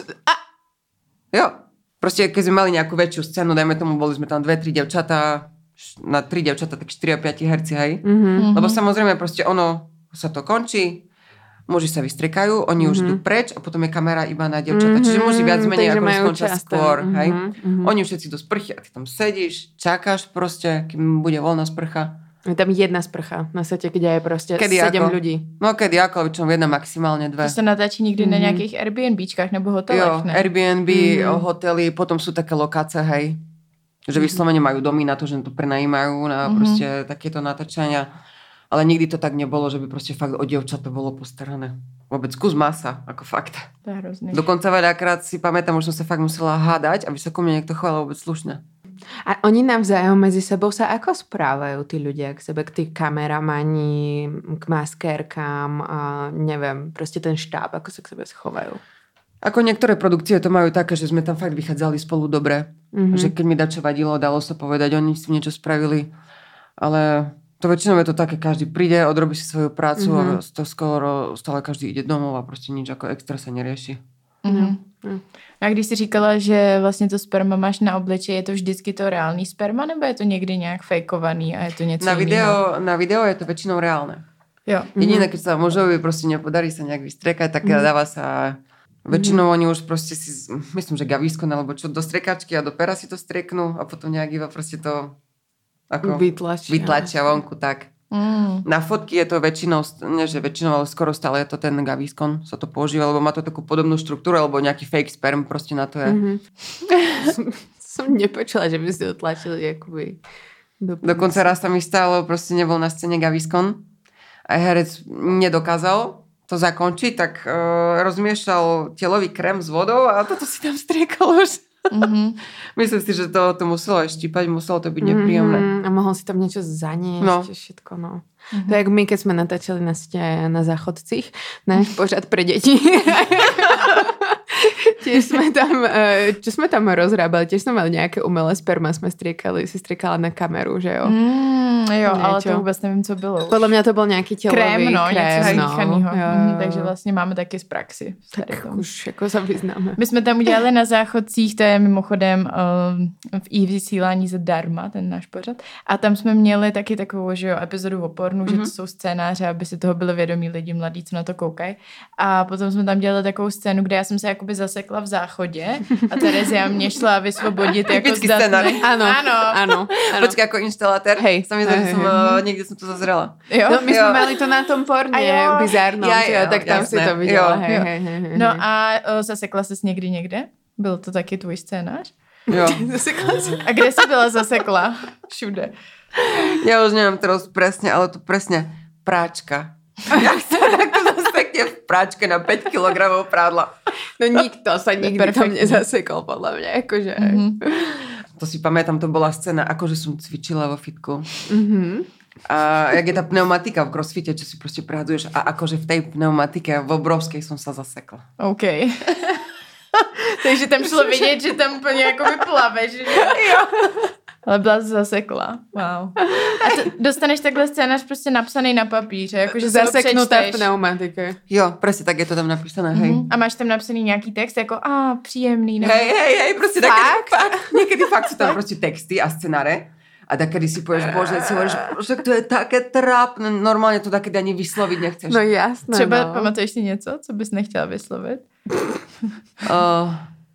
Jo. Proste keď sme mali nejakú väčšiu scénu, dajme tomu, boli sme tam dve, tri devčatá, š- na tri devčatá, tak štyri a päť herci, hej. Mhm. Lebo samozrejme proste ono sa to končí, muži sa vystriekajú, oni už Mhm. idú preč a potom je kamera iba na devčatá. Čiže muži viac Mhm, menej takže ako majú skončia čas tam. skôr, hej. Mhm, mhm. Oni už všetci do sprchy a ty tam sedíš, čakáš proste, kým bude voľná sprcha. Je tam jedna sprcha na sete, kde je proste Kedy sedem ako? ľudí. No kedy ako, väčšinou jedna, maximálne dve. To se natáčí někdy na Mhm. nějakých Airbnbčkách nebo Jo, hotelech, ne? Airbnb, Mhm. hotely, potom sú také lokáce, hej. Že vyslovene majú domy na to, že to prenajímajú na Mhm. proste takéto natáčania. Ale nikdy to tak nebolo, že by proste fakt o dievčat to bolo postarané. Vôbec kus masa, ako fakt. To je hrozný. Dokonca veľakrát si pamätám, už som sa fakt musela hádať, aby sa ku mne niekto choval vôbec slušne. A oni navzájom medzi sebou sa ako správajú tí ľudia k sebe, k tí kameramani, k maskérkám a neviem, proste ten štáb, ako sa k sebe schovajú. Ako niektoré produkcie to majú také, že sme tam fakt vychádzali spolu dobre. Mhm. Že keď mi dačo vadilo, dalo sa povedať, oni si niečo spravili. Ale to väčšinou je to také, každý príde, odrobí si svoju prácu Mhm. a to skoro stále každý ide domov a proste nič ako extra sa nerieši. Mhm. Mhm. A když jsi říkala, že vlastně to sperma máš na obličeji, je to vždycky to reálný sperma, nebo je to někdy nějak fejkovaný a je to něco Na jiného? video, na video je to väčšinou reálne. Jo. Jediné, keď sa mužovi proste nepodarí sa nejak vystriekať, tak Mhm. dáva sa... Väčšinou oni už proste si, myslím, že gavísko alebo čo, do striekačky a do pera si to strieknú a potom nejak iba proste to ako Vytlačia. vytlačia vonku, tak. Mm. Na fotky je to väčšinou, nie že väčšinou, ale skoro stále je to ten gavískon, sa to používa, lebo má to takú podobnú štruktúru, alebo nejaký fake sperm proste na to je. Mhm. som, som nepočula, že by si to tlačili akoby do Dokonca raz sa mi stalo, proste nebol na scéne gavískon a herec nedokázal to zakončiť, tak uh, rozmiešal telový krém s vodou a toto si tam striekal už. Mm-hmm. Myslím si, že to, to muselo aj štípať, muselo to byť nepríjemné. Mm-hmm. A mohol si tam niečo zaniesť, No. všetko, no. Mm-hmm. To je jak my, keď sme natáčali na, ste, na záchodcích, náš pořad pre deti. tiež sme tam, čo sme tam rozrábali, tiež sme mali nejaké umelé sperma, sme striekali, si striekala na kameru, že jo? Mm, jo, Niečo. ale to vůbec nevím, co bylo. Podľa mňa to bol nejaký telový krém, no, krém, něco no. míchanýho. Jo, Mhm, jo. takže vlastně máme taky z praxi. Tak už jako sa vyznáme. My jsme tam udělali na záchodcích, to je mimochodem uh, v i vysílání zadarma, ten náš pořad. A tam jsme měli taky takovou, že jo, epizodu o pornu, mm-hmm. že to jsou scénáře, aby si toho byli vědomí lidi mladí, co na to koukají. A potom jsme tam dělali takovou scénu, kde já jsem se jakoby zasekla v záchodě a Terezia mě šla vysvobodit jako zdatný. Áno, áno. áno. Počkej, ako inštalatér. Hej. Sa mi zdá, že som, uh, niekde som to zazrela. Jo? No, my Jo. sme mali to na tom porne, jo. bizárnom, Ja, že jo, jo, tak tam jasné. si to viděla. Jo. Hej, Jo. hej, hej, hej. No a o, zasekla ses někdy někde? Byl to taky tvůj scénář? Jo. Zasekla si. A kde jsi byla zasekla? Všude. Ja už neviem teraz presne, ale to presne práčka. Jak sa takto zasekne v práčke na päť kilogramov prádla. No nikto sa nikdy tam nezasekol, podľa mňa, akože. Mm-hmm. To si pamätám, to bola scéna, akože som cvičila vo fitku. Mhm. A jak je tá pneumatika v crossfite, čo si proste prehadzuješ a akože v tej pneumatike v obrovskej som sa zasekla. OK. Takže tam šlo vidět, že tam úplně jako vyplaveš. Že? Jo. Ale byla zasekla. Wow. A to, dostaneš takhle scénář prostě napsaný na papíře, jakože se ho Zaseknutá v přečteš. pneumatike. Jo, presne tak je to tam napísané, hej. Mhm. A máš tam napsaný nějaký text, jako a příjemný. Nebo... Hej, hej, hej, proste takedy fakt, niekedy fakt sú tam proste texty a scenáre. A takedy si povieš, bože, si hovoríš, že to je také trápne, normálne to takedy ani vysloviť nechceš. No jasné, Třeba no. pamatuješ si něco, co bys nechtěla vyslovit? Uh,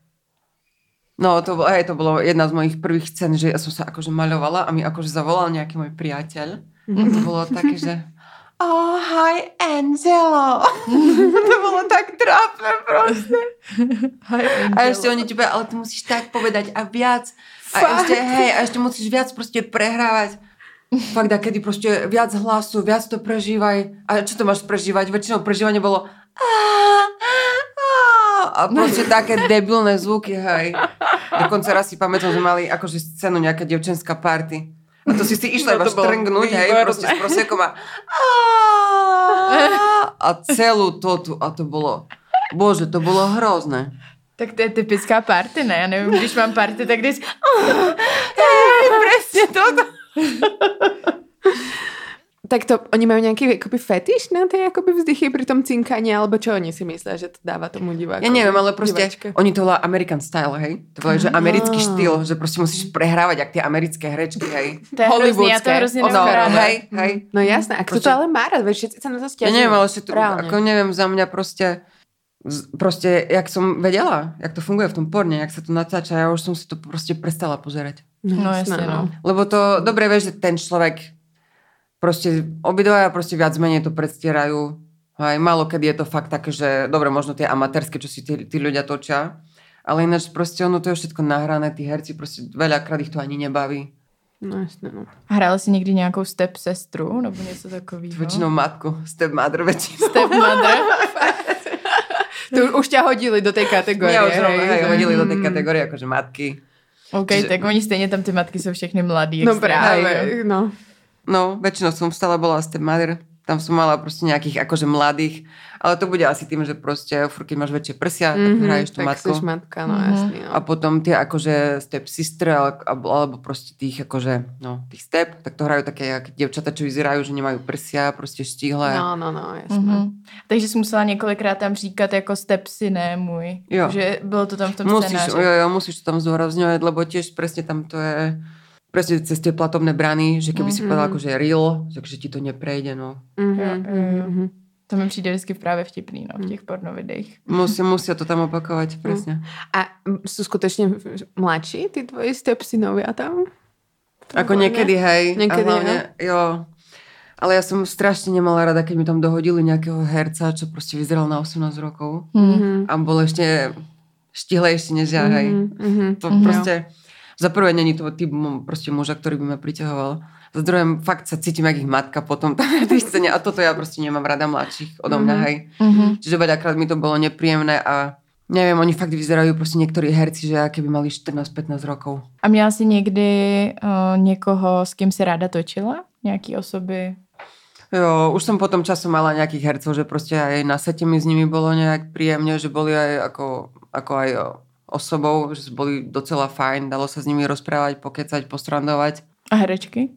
no, to, bolo, hej, to bolo jedna z mojich prvých scén, že ja som sa akože maľovala a mi akože zavolal nejaký môj priateľ. A to bolo také, že oh, hi, Angelo. To bolo tak trápne proste. Hi, A ešte oni ti povedali, ale ty musíš tak povedať a viac. A Fakt? ešte, hej, a ešte musíš viac proste prehrávať. Fakt, a kedy proste viac hlasu, viac to prežívaj. A čo to máš prežívať? Väčšinou prežívanie bolo a proste také debilné zvuky, hej. Dokonca raz si pamätám, že mali akože scénu nejaká devčenská party. A to si si išla No iba to bolo štrngnúť, hej, výborné. proste s prosekom a a celú to tu, a to bolo, bože, to bolo hrozné. Tak to je typická party, ne? Já nevím, když mám party, tak když... Hej, presne toto. Tak to, oni majú nejaký akoby fetiš na tej akoby vzdychy pri tom cinkaní, alebo čo oni si myslia, že to dáva tomu divákovi? Ja neviem, ale proste diváčke? oni to volá American style, hej? To volá, že americký štýl, že proste musíš prehrávať jak tie americké herečky, hej? To je hrozný, já to hrozně No, nemám ráda. hej, hej. No jasné, a kto Proste- to ale má rád, veď všetci sa na to Ja stiažujú. neviem, ale že to, Reálne. ako neviem, za mňa proste, z- proste, jak som vedela, jak to funguje v tom porne, jak sa to natáča, ja už som si to proste prestala pozerať. No jasne, no. Lebo to, dobre vieš, že ten človek proste, obidvaja proste viac menej to predstierajú. Aj málo kedy je to fakt také, že dobre, možno tie amatérske, čo si tí, tí ľudia točia, ale ináč proste ono to je všetko nahrané, tí herci proste veľakrát ich to ani nebaví. No jasné, no. Hrál jsi někdy nějakou step sestru nebo něco takového? Väčšinou matku, stepmother väčšinou. Stepmother. Tu už ťa hodili do tej kategórie. Mňa už hej, rovno, hej, že- hodili do tej kategórie akože matky. OK, Čiže- tak oni stejně tam ty matky jsou všechny mladý. No extrémně. práve, no. No, väčšinou som stále bola stepmother. Tam som mala proste nejakých akože mladých. Ale to bude asi tým, že proste furt, keď máš väčšie prsia, tak Mhm, hraješ tú tak matku. seš matka, no Mhm. jasný, no. A potom tie akože step sister, alebo, alebo proste tých akože, no, tých step, tak to hrajú také jak dievčata, čo vyzerajú, že nemajú prsia, proste štíhle. No, no, no, jasné. Mhm. Takže jsi musela několikrát tam říkat jako stepsy, ne můj. Jo. Že bylo to tam v tom Musíš, scénáři. jo, jo, musíš to tam zdôrazňovať, lebo tiež presne tam to je presne cez tie platobné brany, že keby si Mhm. povedala akože real, takže ti to neprejde, no. Mhm, Jo, jo, jo. mhm. To mi přijde vždycky právě vtipný, no, v těch pornovideích. Musí, musia to tam opakovať, presne. A sú skutočne mladší tí tvoji stepsynovia tam? Ako niekedy, hej. Niekedy, a hlavne, jo. Ale ja som strašne nemala rada, keď mi tam dohodili nejakého herca, čo proste vyzeral na osemnásť rokov. Mhm. A bol ešte štihlejší než ja, hej. Mhm, mhm. To Mhm. proste, za prvé není to typ mu- proste muža, ktorý by ma priťahoval. Za druhé, fakt sa cítim jak ich matka potom tam na tej scéne a toto ja proste nemám rada mladších odo mňa, Mhm. hej. Mhm. Čiže veľakrát mi to bolo nepríjemné a neviem, oni fakt vyzerajú proste niektorí herci, že aké by mali štrnásť pätnásť rokov. A měla jsi někdy uh, někoho, s kým si ráda točila? Nějaký osoby? Jo, už som potom časom mala nejakých hercov, že proste aj na sete mi s nimi bolo nejak príjemne, že boli aj ako ako aj osobou, že boli docela fajn, dalo sa s nimi rozprávať, pokecať, postrandovať. A herečky?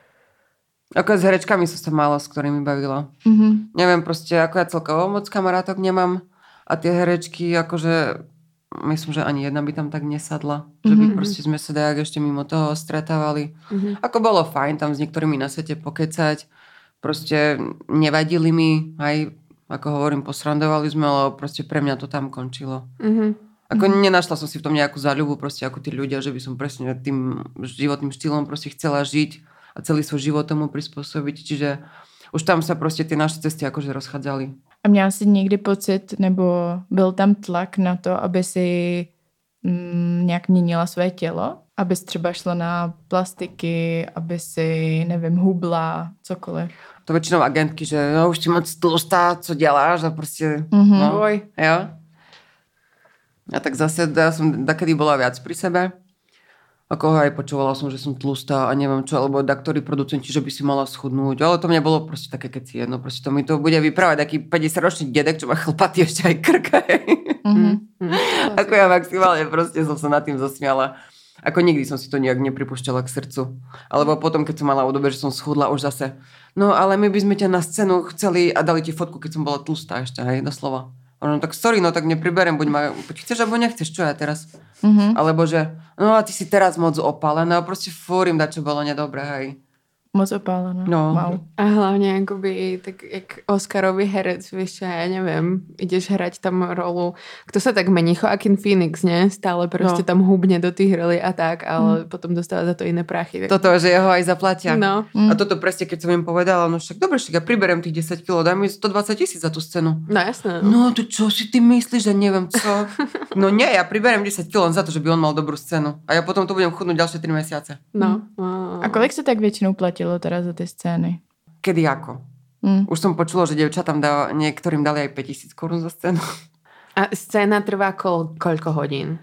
Ako s herečkami som sa málo, s ktorými bavila. Mm-hmm. Neviem, proste, ako ja celkovo moc kamarátok nemám a tie herečky, akože myslím, že ani jedna by tam tak nesadla. Mm-hmm. Že by proste sme sa dajak ešte mimo toho stretávali. Mm-hmm. Ako bolo fajn tam s niektorými na svete pokecať. Proste nevadili mi, aj ako hovorím, posrandovali sme, ale proste pre mňa to tam končilo. Mm-hmm. Ako mm-hmm. nenašla som si v tom nejakú záľubu, proste ako tí ľudia, že by som presne tým životným štýlom proste chcela žiť a celý svoj život tomu prispôsobiť. Čiže už tam sa proste ty naše cesty akože rozchádzali. A měla jsi někdy pocit, nebo byl tam tlak na to, aby si mm, nějak měnila své tělo? Aby si třeba šla na plastiky, aby si, nevím, hubla, cokoliv. To väčšinou agentky, že no, už si moc tlustá, co děláš a proste... Mm-hmm. No, jo. A tak zase ja som dakedy bola viac pri sebe. Ako aj počúvala som, že som tlustá a neviem čo, alebo daktori producenti, že by si mala schudnúť. Ale to mne bolo proste také keci jedno. Proste to mi to bude vyprávať taký päťdesiatročný dedek, čo má chlpatý ešte aj krka. Mm-hmm. Ako ja maximálne proste som sa nad tým zasmiala. Ako nikdy som si to nejak nepripúšťala k srdcu. Alebo potom, keď som mala obdobie, že som schudla už zase. No ale my by sme ťa na scénu chceli a dali ti fotku, keď som bola tlustá ešte, hej, doslova. No tak sorry, no tak nepriberiem, buď ma, buď chceš, alebo nechceš, čo ja teraz? Mm-hmm. Alebo že, no a ty si teraz moc opálená, proste fúrim dať, čo bolo nedobré, hej. Moc opálená. No. Wow. A hlavne akoby tak jak Oscarový herec, vieš čo, ja neviem, ideš hrať tam rolu, kto sa tak mení, Joaquin Phoenix, ne? Stále proste no. tam hubne do tých roli a tak, ale mm. potom dostáva za to iné prachy. Toto, že jeho aj zaplatia. No. Mm. A toto presne, keď som im povedala, no však dobre, však ja priberiem tých desať kilogramov, daj mi stodvadsať tisíc za tú scénu. No jasné. No, no tu čo si ty myslíš, že neviem co? No nie, ja priberiem desať kilogramov za to, že by on mal dobrú scénu. A ja potom to budem chudnúť ďalšie tri mesiace. No. no. A kolik sa tak väčšinou platilo teraz za tie scény? Kedy ako? Mm. Už som počula, že dievčatám dá, niektorým dali aj päťtisíc korún za scénu. A scéna trvá kol, koľko hodín?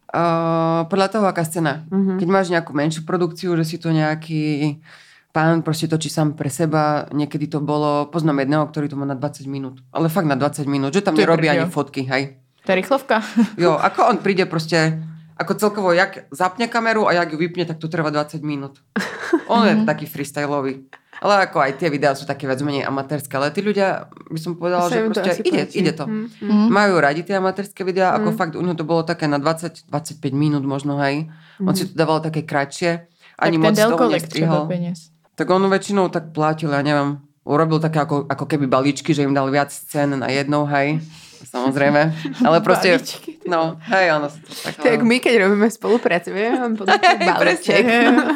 Uh, podľa toho, aká scéna. Mm-hmm. Keď máš nejakú menšiu produkciu, že si to nejaký pán proste točí sám pre seba, niekedy to bolo, poznám jedného, ktorý to má na dvadsať minút. Ale fakt na dvadsať minút, že tam nerobí ani fotky, hej. To je rýchlovka. Jo, ako on príde proste, ako celkovo, jak zapne kameru a jak ju vypne, tak to trvá dvadsať minút. On je taký freestyleový. Ale ako aj tie videá sú také viac menej amatérske. Ale tí ľudia, by som povedala, že proste ide, ide to. Mm. Majú radi tie amatérske videá, mm. ako fakt u neho to bolo také na dvadsať dvadsaťpäť minút možno, hej. Mm. On si to dával také kratšie. Ani tak moc ten toho nestrihol. Tak on väčšinou tak platil, ja neviem, urobil také ako, ako keby balíčky, že im dal viac scén na jednou, hej. Samozrejme. Ale proste... Balíčky. No, hej, ono sa to tak... Tak my, keď robíme spoluprácu, vieme, podľa balíček.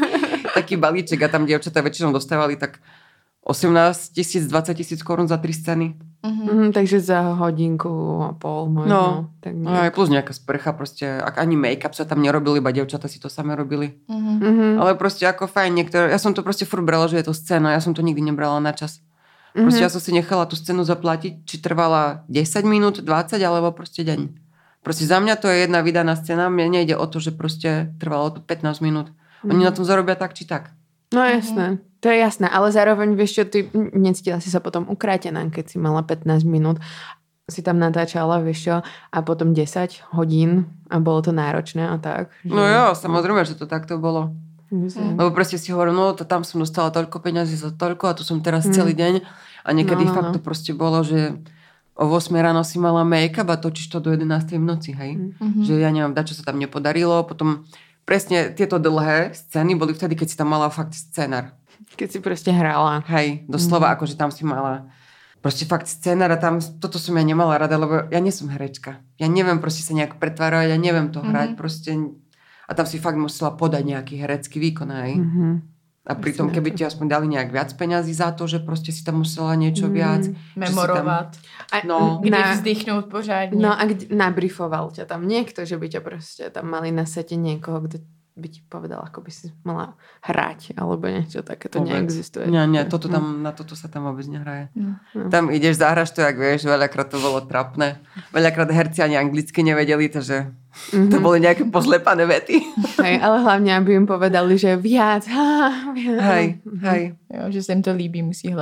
Taký balíček a tam dievčatá väčšinou dostávali tak osemnásť tisíc, dvadsať tisíc korún za tri scény. Uh-huh. Mm, takže za hodinku a pol možno. No, tak no aj plus nejaká sprcha proste. Ak ani make-up sa tam nerobil, iba dievčatá si to samé robili. Uh-huh. Ale proste ako fajn niektoré... Ja som to proste furt brala, že je to scéna. Ja som to nikdy nebrala na čas. Proste uh-huh. ja som si nechala tú scénu zaplatiť, či trvala desať minút, dvadsať alebo proste deň. Proste za mňa to je jedna vydaná scéna. Mne nejde o to, že proste trvalo to pätnásť minút. Oni na tom zarobia tak, či tak. No jasné, mm-hmm. to je jasné, ale zároveň vieš čo, ty necítila si sa potom ukrátená, keď si mala pätnásť minút, si tam natáčala, vieš čo, a potom desať hodín a bolo to náročné a tak. Že... No jo, samozrejme, že to takto bolo. Mm. Lebo proste si hovorím, no to tam som dostala toľko peňazí za toľko a tu som teraz mm. celý deň a niekedy no, no, fakt no. to proste bolo, že o ôsmej ráno si mala make-up a točíš to do jedenástej v noci, hej. Mm-hmm. Že ja neviem, dačo sa tam nepodarilo, potom presne tieto dlhé scény boli vtedy, keď si tam mala fakt scénar. Keď si proste hrala. Hej, doslova, mm-hmm. akože tam si mala proste fakt scénar a tam, toto som ja nemala rada, lebo ja nie som herečka. Ja neviem proste sa nejak pretvárať, ja neviem to hrať, mm-hmm. proste. A tam si fakt musela podať nejaký herecký výkon, hej. Mm-hmm. A pritom, keby ti aspoň dali nejak viac peňazí za to, že proste si tam musela niečo viac. Mm, memorovat. Tam, no, kde na, vzdychnúť pořádne. No a kde, nabrifoval ťa tam niekto, že by ťa proste tam mali na sete niekoho, kto by ti povedal, ako by si mala hrať, alebo niečo také, to vôbec neexistuje. Nie, nie, toto tam, na toto sa tam vôbec nehraje. No. Tam ideš, zahraš to, jak vieš, veľakrát to bolo trapné. Veľakrát herci ani anglicky nevedeli, takže mm-hmm. to boli nejaké pozlepané vety. Hej, ale hlavne, aby im povedali, že viac. Ha, viac. Hej, hej. Jo, že sa im to líbí, musí hlavne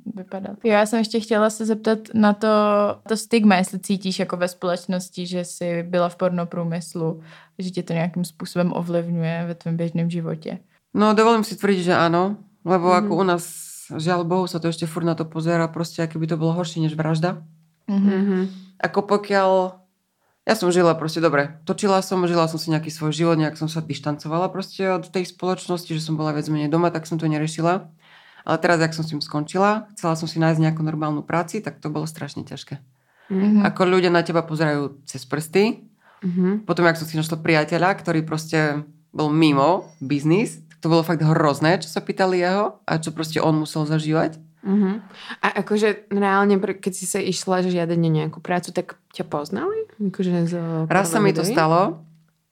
vypadat. Jo, já jsem ještě chtěla se zeptat na to, to stigma, jestli cítíš jako ve společnosti, že jsi byla v pornoprůmyslu, že tě to nějakým způsobem ovlivňuje ve tvém běžném životě. No, dovolím si tvrdiť, že áno, lebo mm-hmm. ako u nás, žiaľ Bohu, sa to ešte furt na to pozerá, proste, aké by to bolo horšie než vražda. Mm-hmm. Ako pokiaľ... Ja som žila proste dobre. Točila som, žila som si nejaký svoj život, nejak som sa dištancovala proste od tej spoločnosti, že som bola viac menej doma, tak som to neriešila. Ale teraz, jak som s tým skončila, chcela som si nájsť nejakú normálnu práci, tak to bolo strašne ťažké. Mm-hmm. Ako ľudia na teba pozerajú cez prsty. Mm-hmm. Potom, jak som si našla priateľa, ktorý proste bol mimo biznis, tak to bolo fakt hrozné, čo sa pýtali jeho a čo proste on musel zažívať. Uh-huh. A akože reálne, keď si sa išla žiadať na nejakú prácu, tak ťa poznali? Akože raz sa mi to stalo,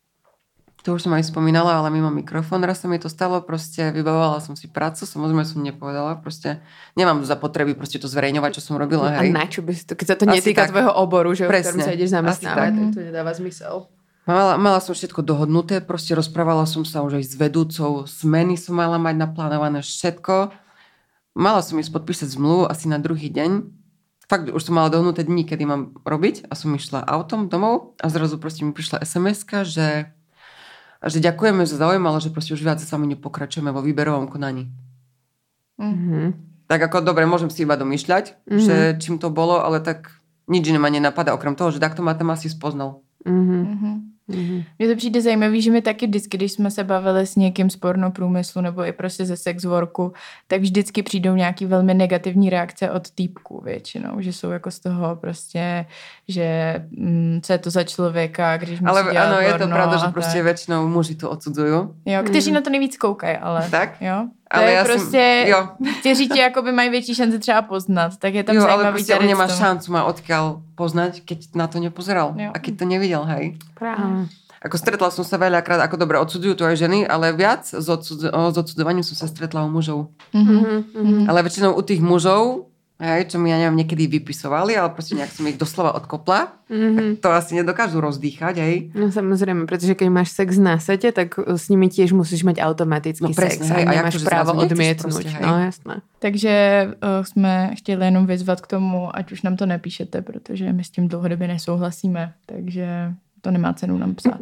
to už som aj spomínala, ale mimo mikrofón, raz sa mi to stalo, proste vybavovala som si prácu, samozrejme som nepovedala, proste nemám za potreby proste to zverejňovať, čo som robila. Hej. A na čo by si to, keď sa to netýka tvojho oboru, že v ktorom sa ideš zamestnávať, tak to nedáva zmysel. Mala, mala som všetko dohodnuté, proste rozprávala som sa už aj s vedúcou, zmeny som mala mať naplánované všetko. Mala som ísť podpísať zmluvu asi na druhý deň. Fakt, už som mala dohnuté dní, kedy mám robiť a som išla autom domov a zrazu proste mi prišla es em eska, že, že ďakujeme za záujem, ale že proste už viac sa mi nepokračujeme vo výberovom konaní. Mm-hmm. Tak ako, dobre, môžem si iba domýšľať, mm-hmm. že čím to bolo, ale tak nič iné ma nenapadá, okrem toho, že takto ma tam asi spoznal. Mm-hmm. Mm-hmm. Mně to přijde zajímavý, že my taky vždycky, když jsme se bavili s někým z pornoprůmyslu nebo i prostě ze sex worku, tak vždycky přijdou nějaký velmi negativní reakce od týpků většinou, že jsou jako z toho prostě, že mm, co je to za člověka, když musí ale dělat ano, porno. Je to pravda, že prostě většinou muži to odsudzují. Jo, kteří mm. na to nejvíc koukají, ale tak? Jo. To ale je já prostě, jsem, jo. kteří tě jakoby mají větší šanci třeba poznat, tak je tam jo, zajímavý. Jo, ale prostě on nemá šancu ma odkiaľ poznať, keď na to nepozeral jo. A keď to nevidel, hej. Práve. Ako stretla som sa veľakrát, ako dobre, odsudzujú to aj ženy, ale viac s, odsud- s odsudzovaním som sa stretla u mužov. Mm-hmm. Ale väčšinou u tých mužov, hej, čo mi, ja neviem, niekedy vypisovali, ale proste nejak som ich doslova odkopla, mm-hmm. to asi nedokážu rozdýchať, hej. No samozrejme, pretože keď máš sex na sete, tak s nimi tiež musíš mať automatický no, presne, sex hej, a nemáš právo odmietnúť. Proste, no jasné. Takže uh, jsme chtěli jenom vyzvat k tomu, ať už nám to nepíšete, protože my s tím dlouhodobě nesouhlasíme, takže to nemá cenu nám psát.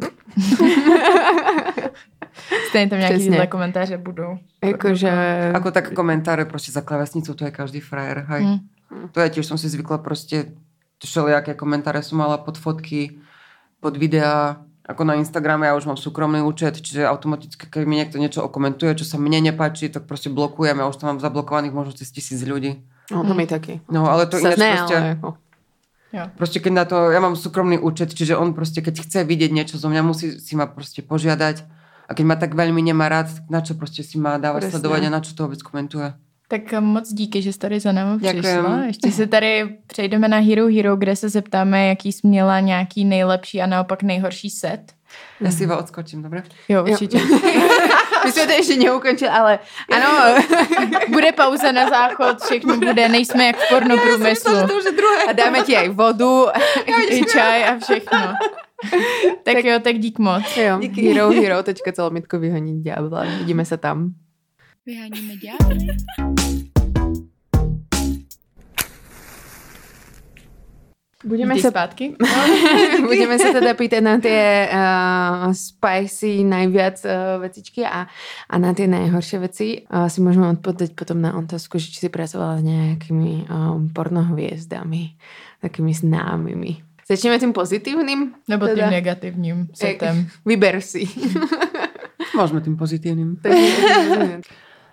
Stejně tam nějaký tyhle komentáře budou. Jakože... Ako tak komentáře prostě za klávesnicu, to je každý frajer, hej. Hmm. To ja tiež som si zvykla prostě všelijaké komentáře som mala pod fotky, pod videa, ako na Instagrame, ja už mám súkromný účet, čiže automaticky, keď mi niekto niečo okomentuje, čo sa mne nepáči, tak prostě blokujem, ja už tam mám zablokovaných možno cez tisíc ľudí. No, to mi taky. No, ale to ináč prostě... Jako... Jo. Proste keď na to, ja mám súkromný účet, čiže on proste keď chce vidieť niečo zo mňa, musí si ma proste požiadať a keď ma tak veľmi nemá rád, na čo proste si má dávať sledovať a na čo to vôbec komentuje. Tak moc díky, že jsi tady za námi přišla. Ještě se tady přejdeme na Hero Hero, kde se zeptáme, jaký jsi měla nějaký nejlepší a naopak nejhorší set. Já si iba odskočím, dobre? Jo, určitě. My jsme to ještě neukončili, ale ano. Bude pauza na záchod, všechno bude, nejsme jak v pornoprůmyslu. A dáme ti aj vodu, i čaj a všechno. Tak, tak jo, tak dík moc. Jo, díky. Hero Hero, tečka celomitko vyhonit ďábla. Vidíme se tam. Vyháníme ďábly. Budeme sa zpátky. Budeme sa teda pýtať na tie uh, spicy najviac uh, vecičky a, a na tie najhoršie veci. Uh, si môžeme odpovedať potom na otázku, že či si pracovala s nejakými um, pornohviezdami, takými známymi. Začneme tým pozitívnym? Nebo teda? Tým negatívnym setem. Vyber si. Môžeme tým pozitívnym.